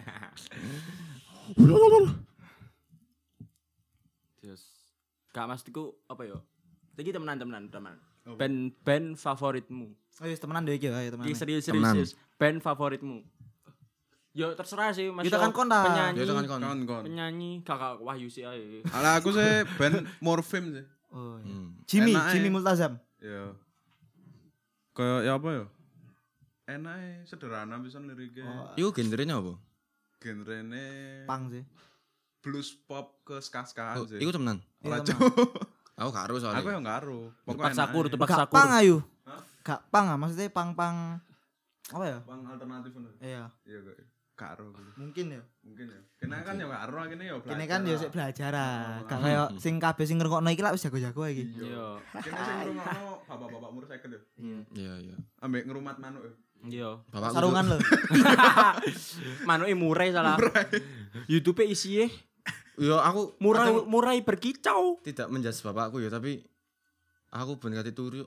Terus Kak maksudku apa yo? Iki temenan temenan teman. Apa? Band band favoritmu. Oh iya temenan deh iki ayo temenan. Iki serius serius. Temenan. serius. Band favoritmu. Yo terserah sih Mas. Kita Yo, kan kontak. penyanyi. Ya tekan kon. Kon kon. Penyanyi Kakak Wahyu sih ae. Ala aku sih band Morfim sih. Oh iya. Hmm. Jimmy, Enak, Jimmy eh. Multazam. Ya. Kayak ya apa ya? Enak e, sederhana pisan liriknya. Oh, Iku genrenya apa? Genrene pang sih. blues pop ke ska-skaan Oh, sih. iku temenan. Ora Iya, cuk. Aku karo soalnya. Aku yang karo. Tepat sakur, enak e. tepat Gak sakur. pang ayo. Hah? Gak pang ah maksudnya pang-pang apa ya? Bang alternatif ngono. Iya, Iya kok. Karo gitu. mungkin ya. Mungkin ya. Kena kan ya karo kene ya belajar. Kene kan ya sik belajar ah. Oh, Gak kayak sing kabeh sing ngrungokno iki lak wis jago-jago iki. Iya. Kene sing ngrungokno bapak-bapak umur second ya. Iya, iya. Ambek ngerumat manuk ya. Iya. Bapakku Sarungan tuh- lho. Manuke murai salah. YouTube isinya Yo aku murai kadang murai berkicau. tidak menjas bapakku ya, tapi aku ben kate turu.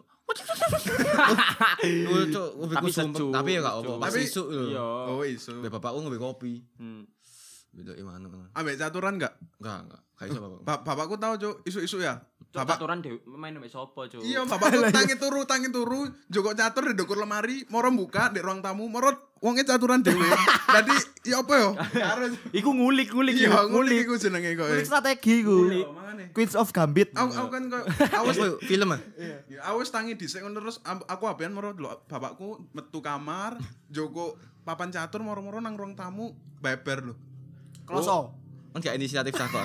Oh, cuk, Tapi tapi sumpah, sejuk, tapi ya gak apa, sejuk. pas Tapi- isuk lho. Iya. Oh iso. Be bapakku ngombe kopi. Hmm. Beda imano. Ambek caturan enggak? Enggak, enggak. Gak iso bapakku. Ba- bapakku tahu cuk isu-isu ya. Cok Bapak aturan dhewe main mbek sapa, Cuk? iya bapakku tangi turu tangi turu joko catur di dukur lemari moro buka di ruang tamu moro wonge caturan dhewe. Dadi ya apa yo? Karo Iku ngulik-ngulik iya yo, ngulik iku jenenge kok. Kulik strategi ku. Iya, makane. Queens of Gambit. Aku aku kan kok Awas awas film ah. ya awas tangi dhisik ngono terus am- aku abean moro delok bapakku metu kamar joko papan catur moro-moro nang ruang tamu beber lho. Kloso. Kan gak inisiatif saka.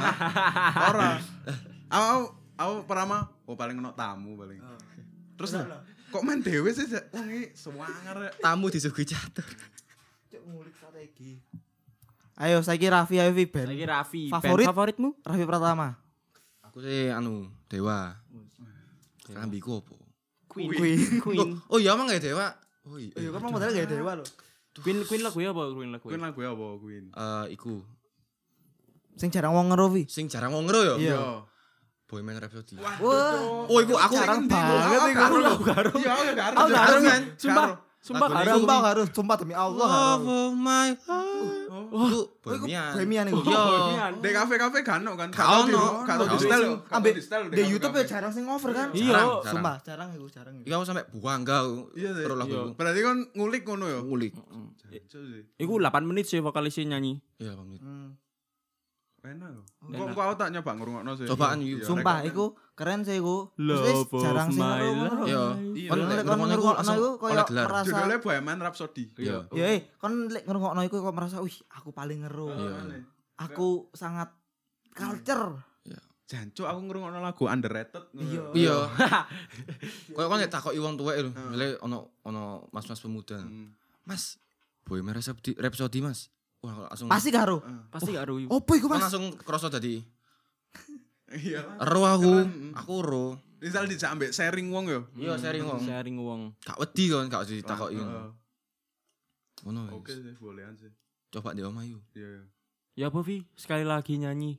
Ora. Aku aku pertama oh paling ono tamu paling. Terus kok main dhewe sih wong iki sewanger ya. Tamu disuguhi catur. Cuk ngulik strategi. Ayo saiki Raffi ayo Vi band. Lagi Raffi, Favorit? band favoritmu? Raffi Pratama. Aku sih anu, Dewa. Kelambiku apa? Queen. Queen. Queen. Oh iya emang gak Dewa? Oh iya. Iya kan modalnya gak dewa lho. Queen Queen lagu apa Queen lagu? Queen lagu apa Queen? Eh iku Sing jarang wong ngero Vi. sing jarang wong ngero ya. Iya. Boyman Rhapsody. Wah. Oh iku aku Jarang Ndi, banget aku iku. karo. Aku karo. Iya, aku karo. Aku karo kan? Sumpah, sumpah Lagu karo. ini Sumpah harus, sumpah demi Allah Love harus. of my heart. Oh, Oh, iku Bohemian. Bohemian iku. Iya. Di kafe-kafe kan no kan. Gak Gak ono. Kalo di Gak style, ono. kalo Ambek di style di YouTube ya jarang sing over kan. Iya. Jarang, jarang. Sumpah jarang iku, jarang iku. Iya aku sampe buangga. Iya, sih. Terus lagu Iya. iku. Berarti kan ngulik ngono ya. Ngulik. Jancuk sih. Iku delapan menit sih vokalisnya nyanyi. Iya, pamit. Hmm. Enak lho. Enak. Kok kok aku tak nyoba ngrungokno sih. Cobaan Iya, yuk. Sumpah rekomen. iku keren sih iku. Terus Love wis of jarang sing my ngero. life. Iya. Iya. Kon Lek lek kon ngrungokno iku ngrungokno langsung iku oleh koyo gelar. merasa Judulnya Bohemian Rhapsody. Iya. ya eh kon lek ngrungokno iku kok merasa wih aku paling ngero. Iya. Aku sangat culture. Jancuk aku ngrungokno lagu underrated. Iya. Iya. Kayak kon lek takoki wong tuwek lho, mele ono ono mas-mas pemuda. Hmm. Mas, Bohemian Rhapsody, Rhapsody Mas. Wah, langsung Pasti karo. Pasti karo iku. Opo iku Kon Mas? langsung krasa dadi Iya. ero aku. Keren. Aku ero. Misal dijak ambek sharing wong yo. Iya, sharing wong. Sharing wong. Gak wedi kon, gak ditakoki Heeh. ngono. Ngono. Oke wis. sih, bolehan sih. Coba di omah yuk. Iya. iya. Ya apa Vi? Sekali lagi nyanyi.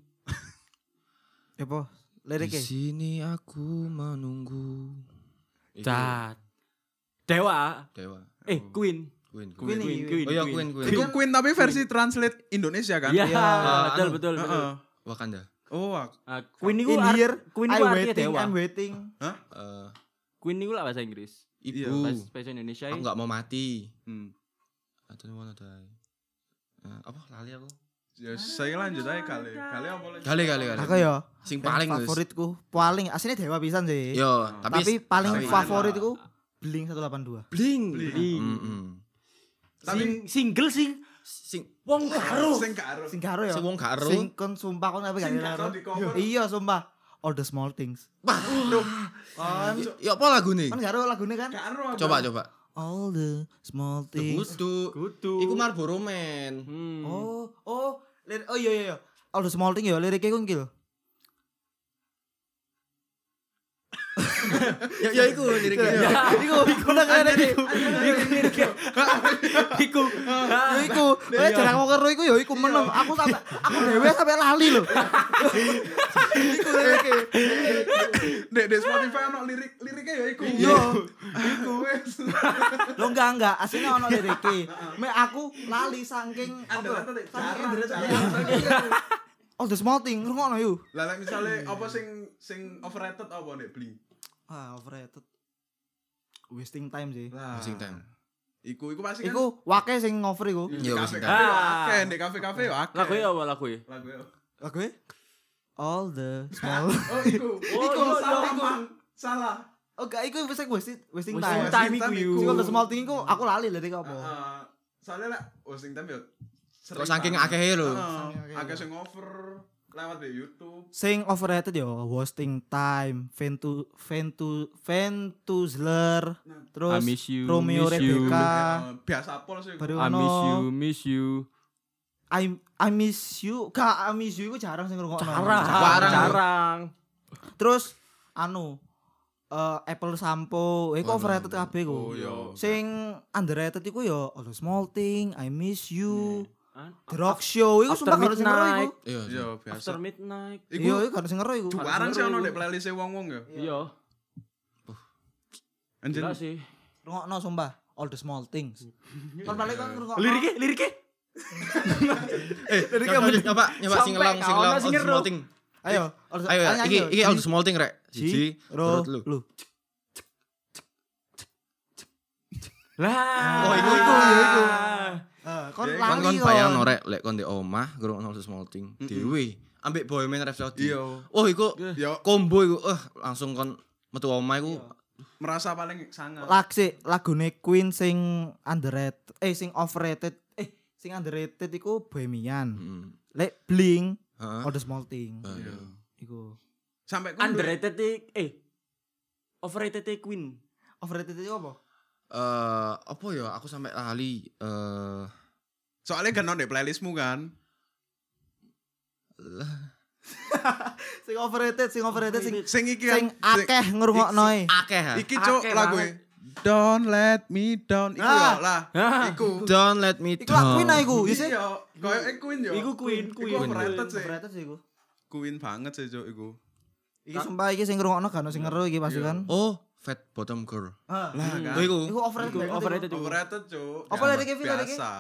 Apa? Di Liriknya. sini aku menunggu. Iku Cat. Dewa. Dewa. Eh, Queen. Queen. Queen, Queen. Queen. Oh iya Queen, Queen. Iku Queen tapi versi translate Indonesia kan? Iya, Iya. betul Anu. betul betul. Heeh. Wakanda. Oh, ak- Ah, Queen iku In art- here, Queen I iku artinya waiting, dewa. I'm waiting. Eh, Queen iku lah bahasa Inggris. Iya. ibu. Bahasa bahasa Indonesia. Aku gak mau mati. hmm. I don't wanna die. Eh, apa lali aku? Ya saya lanjut aja kali. Kali apa lagi? Kali kali kali. Aku ya Sing band paling wis. favoritku, paling aslinya Dewa pisan sih. Yo, Tapi, tapi paling tapi- favoritku Blink seratus delapan puluh dua. bling. Bling. Heeh. Tapi Sing single sing Sing wong karo. sing karo. Sing karo ya. sing wong gak ero. Sing kon sumpah kon apa Sing gak karo karo. di cover. Iya sumpah. All the small things. Aduh, Kon Ya apa lagu nih? kon gak ero lagune kan? karo. apa? Coba coba. All the small things. Kudu. Kudu. Iku Marlboro Man. Hmm. Oh, oh, lir- oh iya iya iya. All the small things ya liriknya ku ngil. Ya ya iku liriknya. Iku iku nang ngene iki. Iku. Ya iku. Eh jarang mau karo iku ya iku menem. Aku sampe aku dhewe sampe lali lho. Iku liriknya. Dek dek Spotify ono lirik liriknya ya iku. Iya. Iku wes. Lo enggak enggak, aslinya ono liriknya. Me aku lali saking apa? Underrated, Saking jarang, underrated. jarang. All the small thing, rungokno yuk. Lah lek misale apa sing sing overrated apa nek Blink? Ah, overrated. Wasting time sih. Wasting time. Iku iku pasti kan. Iku wake sing ngover iku. Iya, kafe wasting kafe time. akeh, di kafe-kafe yo akeh. Lagu ya apa lagu ya? Lagu ya. Lagu e? All the small. Oh iku. Oh, Iku iya, salah, iya. Mang. Salah. Oh, gak iku wis wasting wasting Wasting time. time iku Wasting yo. Sing all the small thing iku aku lali lirik apa. Heeh. Soalnya lek wasting time yo Kok saking akehe lho. Saking akeh. Akeh sing over lewat di YouTube. Sing overrated yo wasting time, Ventu Ventu Ventuzler, terus I miss you, Romeo miss you. Rebecca. Eh, biasa pol sih. Baru I ono miss you, miss you. I I miss you. Gak I miss you iku jarang sing ngrungokno. Jarang, Jarang. jarang. Terus anu eh Apple Sampo, iku Waduh. overrated kabeh iku. Oh iya. Sing underrated iku yo All the Small Thing, I Miss You, Ah, The Rock Show iku After sumpah gak ada sing ngero iku. Midnight. Iya. Iya, biasa. After midnight. Iya, Iku iku gak ada sing ngero iku. barang sih ono nek playlist wong-wong ya. Iya. Anjir. Gila sih. Rungokno sumpah, All the Small Things. Kon balik kan ngrungokno. Liriknya, liriknya. Eh, nyoba nyoba nyoba sing Sampai ngelong sing kawan ngelong sing all the ngeru. small thing. Ayo, all the- Ayo ya, nyanyi, iki ayo. iki all the Ji, small thing rek. Siji, ro, turut lu. lu. Lah. Oh, iku, iku, iya, iku. Eh, kon Ya, Kan lali kon bayang rek lek kon di omah ngrungokno all the small thing. Dewe ambek Bohemian Rhapsody. Iya. Oh, iku Yo combo iku. Eh, langsung kon metu omah iku. merasa paling sangat. Laksi lagune Queen sing underrated, eh sing overrated, eh sing underrated iku Bohemian. Heeh. Lek Blink, Heeh. All the Small Thing. Iya. Iku. Sampai kon Underrated i- eh overrated i Queen. Overrated itu apa? Eh, apa ya? Aku sampai lali eh soalnya kan ono di playlistmu kan. Sing overrated, sing overrated sing Sing iki kan. sing akeh ngrungokno e. akeh ha. Iki cuk Akeh lagu banget. Don't let me down. Iku Ah. ya lah. Ah. Iku. Don't let me Iku lak Queen ah down. iku, ya sih. Iya, koyo eh Queen yo. Iku Queen, Iku Queen. overrated sih. Overrated sih iku. Queen banget sih cuk iku. Iki sumpah iki sing ngrungokno gak ono sing ngeru iki pasti kan. Oh, Fat Bottom Girl. Ah. Lah kan. Oh, iku. Iku overrated. Iku banget iku. overrated iku. Overrated cuk. Apa Ya, liriknya, Vin, liriknya? biasa.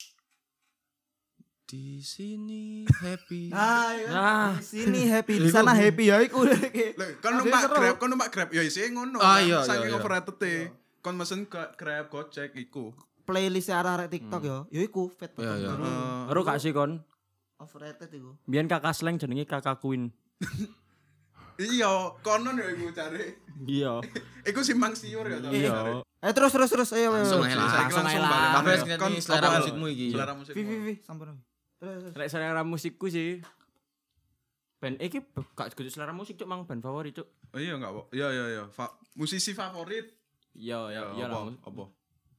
Di sini happy. Ah, iya. Ah. Di sini happy, di sana happy ya iku. Lho, kon numpak Grab, kon numpak Grab ya isi ngono. Ah, kan. iya, Saking iya, iya. overrated e. Kon mesen ke- Grab Gojek iku. Playlist arah-arah TikTok yo. Yo iku Fat Iya, Bottom iya. Girl. Heeh. Baru gak sih kon? Overrated iku. Biyen kakak slang jenenge kakak Queen. Iya, konon ya iku cari. Iya. Iku simpang siur ya to. Iya. Eh terus terus terus ayo ayo. Langsung ayo. aja lah. Langsung Langsung aja balik. lah. Kabeh Kon sing selera apa? musikmu iki. Selera musikmu. Vi vi vi sampun. Terus terus. Lek selera musikku sih. Band iki b- gak kudu selera musik cuk, mang band favorit cuk. Oh iya enggak, Pak? Iya iya iya. Fa- musisi favorit. Iya, iya, iya apa? lah. Apa?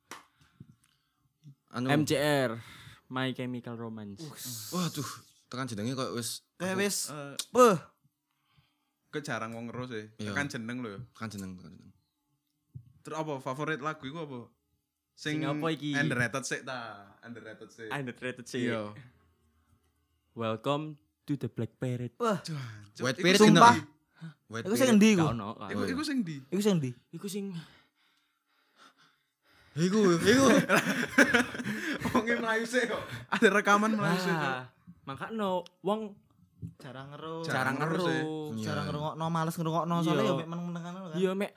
Anu. M C R, My Chemical Romance. Waduh, tekan jenenge kok wis Kayak wis Eh, beuh. ke jarang wong ngeru sih. Iya. Kan jeneng lho ya. tekan jeneng, tekan jeneng. Terus apa favorit lagu iku apa? Sing apa iki? Underrated sih ta. Underrated sih. Underrated sih. Iya. Welcome to the Black Parrot. Wah, Cuk, White iku Parrot sing- sumpah. White Iku sing Parrot. endi iku? Gak ono. gak Iku ono. iku sing di. Iku sing endi? Iku sing Iku, iku. Wonge Melayu sih kok. Ada rekaman Melayu sih. Cuk. ah, makanya wong Jarang ngeru. Jarang jarang ngeru sih. ngeru. Iya. Jarang ngerungokno, males ngerungokno soalnya Iya. yo mek meneng-menengan ngono kan. Iya mek.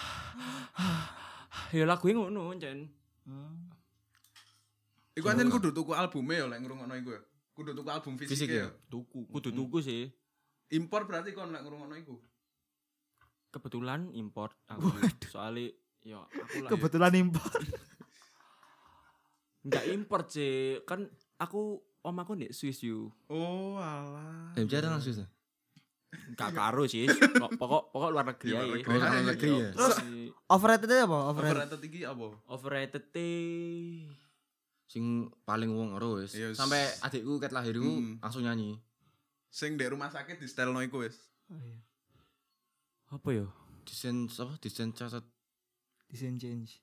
Ya lagu ngono jan. Hmm. Iku anjen kudu tuku albume ya lek ngrungokno iku ya. kudu tuku album fisik Fisik ya. ya? Tuku, kudu tuku sih. Impor berarti kon lek ngrungokno iku. Kebetulan import aku. Soalnya ya aku lah. Kebetulan impor. Enggak import sih. Kan aku om aku di Swiss you. Oh, alah. Eh, bicara langsung sih. Enggak karo sih. Pokok pokok luar negeri Luar ae. negeri. Oh, luar negeri ya. Terus overrated itu apa? Overrated. Overrated iki apa? overrated teh. Sing paling wong ero wis. Yes. Sampai adikku ket lahir iku Hmm. langsung nyanyi. Sing ndek rumah sakit di setelno iku wis. Oh, iya. Apa ya? Desain apa? Desain cacat. Design change.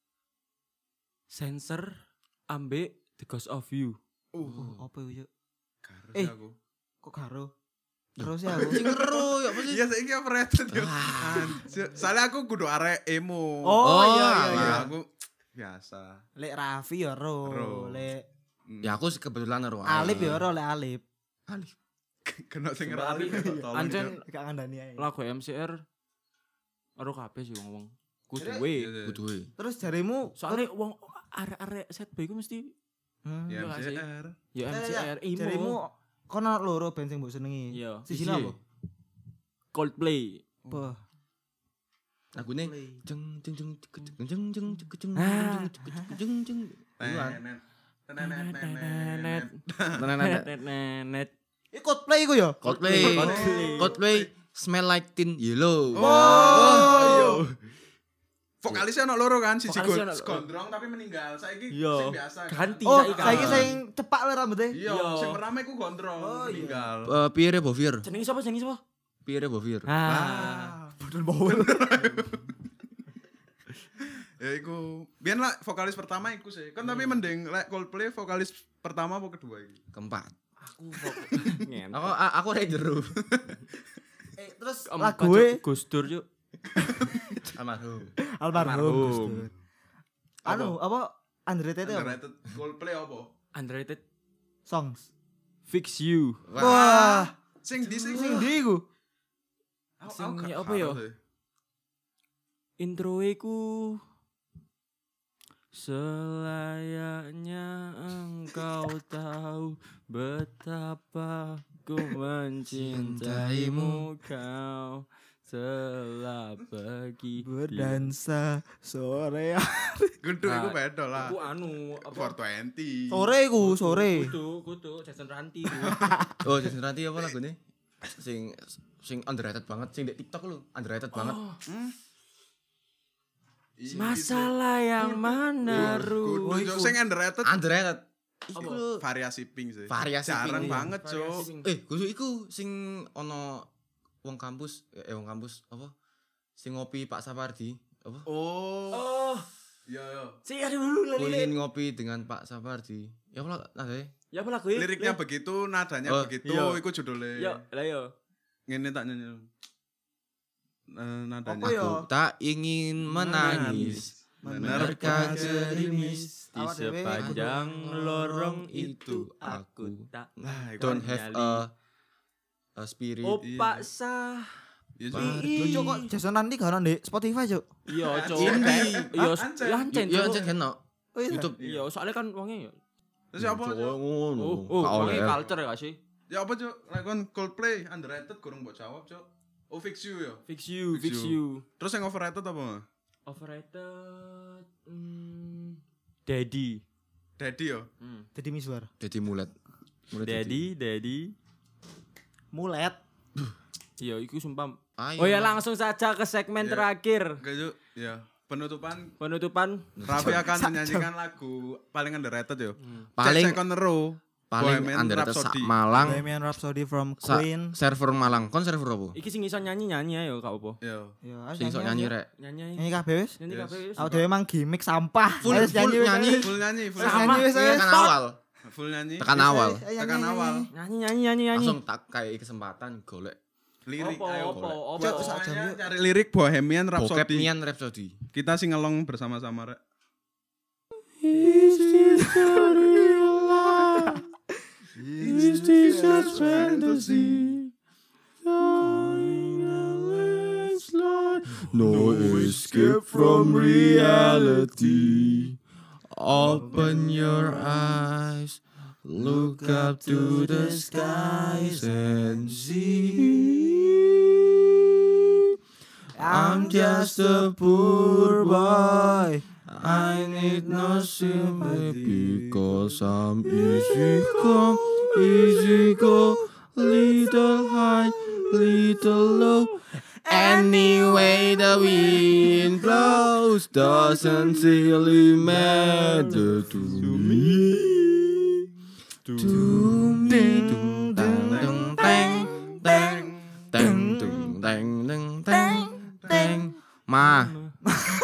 Sensor ambek The Ghost of You. Oh, apa itu? Karo Eh. aku. Kok karo? Terus ya aku. Sing ero ya apa sih? Iya saiki overrated yo. Anjir. Soalnya aku kudu arek emo. Oh, iya iya Nah, iya. aku biasa. Lek Raffi ya ro, Ro. lek Hmm. Ya aku sih kebetulan ero. Alip ya ro, lek Alip. Alip. Kena sing Coba ngerali Alip. tolong. Ancen Cok. Gak ngandani ae. lagu M C R aro kabeh sih wong-wong. Kudu Iya, we. iya. Kudu we. Terus jarimu Soalnya wong arek-arek set boy ku mesti Hmm. Ya Iya, M C R. ya M C R imo. Jarimu kono loro band sing mbok senengi. Iya. Siji Siji. apa? Coldplay. Apa? Lagune jeng jeng jeng jeng jeng jeng jeng jeng jeng Ah. jeng jeng jeng. Iwan. Nenet. Nenet. Nenet. Nenet. Nenet nenet. Iku Coldplay iku ya? Coldplay. Coldplay. Coldplay Smell Like Teen Yellow. Oh, iya. Vokalisnya ono loro kan, siji Vokalisnya ono- gondrong tapi meninggal. Saiki Iya. sing biasa. kan? Ganti Oh, saiki. saiki kan. sing cepak lho rambutnya. Iya, Iya. sing pertama iku gondrong Oh, iya. meninggal. Eh, Pierre Bovier. Jenenge sapa? Jenenge sapa? Pierre Bovier. Ah. Bodol bawel. Ya iku. Biyen lah vokalis pertama iku sih. Kan tapi mending lek Coldplay vokalis pertama apa kedua iki? Keempat. Aku ngentot. Aku a- aku Ranger. Eh, terus Om, lagu kocok Gus Dur yuk. Almarhum. almarhum. Almarhum. Gus Dur. Anu, apa? Underrated itu apa? Underrated Coldplay apa? Underrated Songs. Fix You. Wah, Sing di sing sing ndi iku? Aku- Sing aku gak apa ya? paham sih. Intro ku selayaknya engkau tahu betapa ku mencintaimu kau telah pergi Berdansa sore. Gundu iku Nah, beda lah. Aku anu apa four twenty. Sore iku, sore. kudu kudu Jason Ranti. Oh, Jason Ranti apa lagune? Sing sing underrated banget, sing di TikTok lu, underrated banget. Masalah yang mana Kudu Ru? Cok. Sing underrated Underrated. Iku Apa? lho. variasi pink sih. Variasi Jarang pink. banget, Cok. Variasi pink. Eh, kudu iku sing ono wong kampus, eh wong kampus apa? Sing ngopi Pak Sapardi, apa? Oh. Oh, Iya, iya. sih ada dulu Aku lali. ingin ngopi dengan Pak Sapardi. Ya apa nadanya? Ya apa lagu ya? Liriknya begitu, nadanya Oh, begitu, iya. iku judulnya. Yo, lah yo. Ngene tak nyanyi. Eh, nadanya. Apa ya? Aku tak ingin menangis. Menerka gerimis di Awak dhewe sepanjang kudu- lorong itu aku tak Nah, iku. Don't have a, a spirit. Oh, Iya. paksa. Iya, Cok. Yo cok kok Jason nanti gak ono di Spotify cok. Iya, cok. Indie. Iya, Ah, Ancen. ya ancen. Iya, Cok. ancen kan no. Oh iya. YouTube. Iya, soalnya kan wongnya ya. Terus apa? Cok? ngono. Oh, oh, Gak oleh. wongnya culture ya gak sih? Ya apa, Cok? Lek kon Coldplay underrated kurang mbok jawab, Cok. Oh, Fix You ya. Fix you, Fix fix you. you. Terus yang overrated apa? Overrated. Hmm, Daddy. Daddy ya. Hmm. Jadi misuar. Jadi mulet. Mulet Daddy, Daddy. Mulet. Iya, itu sumpah. Ayo. Oh ya, langsung saja ke segmen Iya. terakhir. Oke, Cok. Ya. Penutupan Penutupan. Raffi akan menyanyikan lagu paling underrated yo. Paling- Cek Second Row. paling Bohemian underrated sak Rhapsody. Malang. Bohemian Rhapsody from Sa Queen. server Malang. Kon server apa? Iki sing iso nyanyi-nyanyi ayo gak apa. Yo. Yo, Sing sok nyanyi rek. Nyanyi aja. Nyanyi kabeh wis. Nyanyi Yes. kabeh wis. Aku dhewe emang gimmick sampah. Full- Ayo, full wis, nyanyi. ayo. Full nyanyi, full Wis Sama. nyanyi wis. Iya ayo. kan Stop. awal. Full nyanyi. Tekan Wis, awal. ayo, Tekan nyanyi, awal. nyanyi. Nyanyi nyanyi nyanyi nyanyi. Langsung tak kayak kesempatan golek. Lirik Opo, ayo. opo, opo. Cok, sak jam, semuanya yuk. cari lirik Bohemian Bokep Rhapsody. nian Rhapsody. Kita singelong bersama-sama rek. Is this a fantasy? No escape from reality. Open your eyes, Look up to the skies and see. I'm just a poor boy. I need no sympathy because I'm easy come, easy go, little high, little low. Anyway the wind blows doesn't really matter to me. To me, ding dang dang dang dang dang dang dang dang dang. Ma.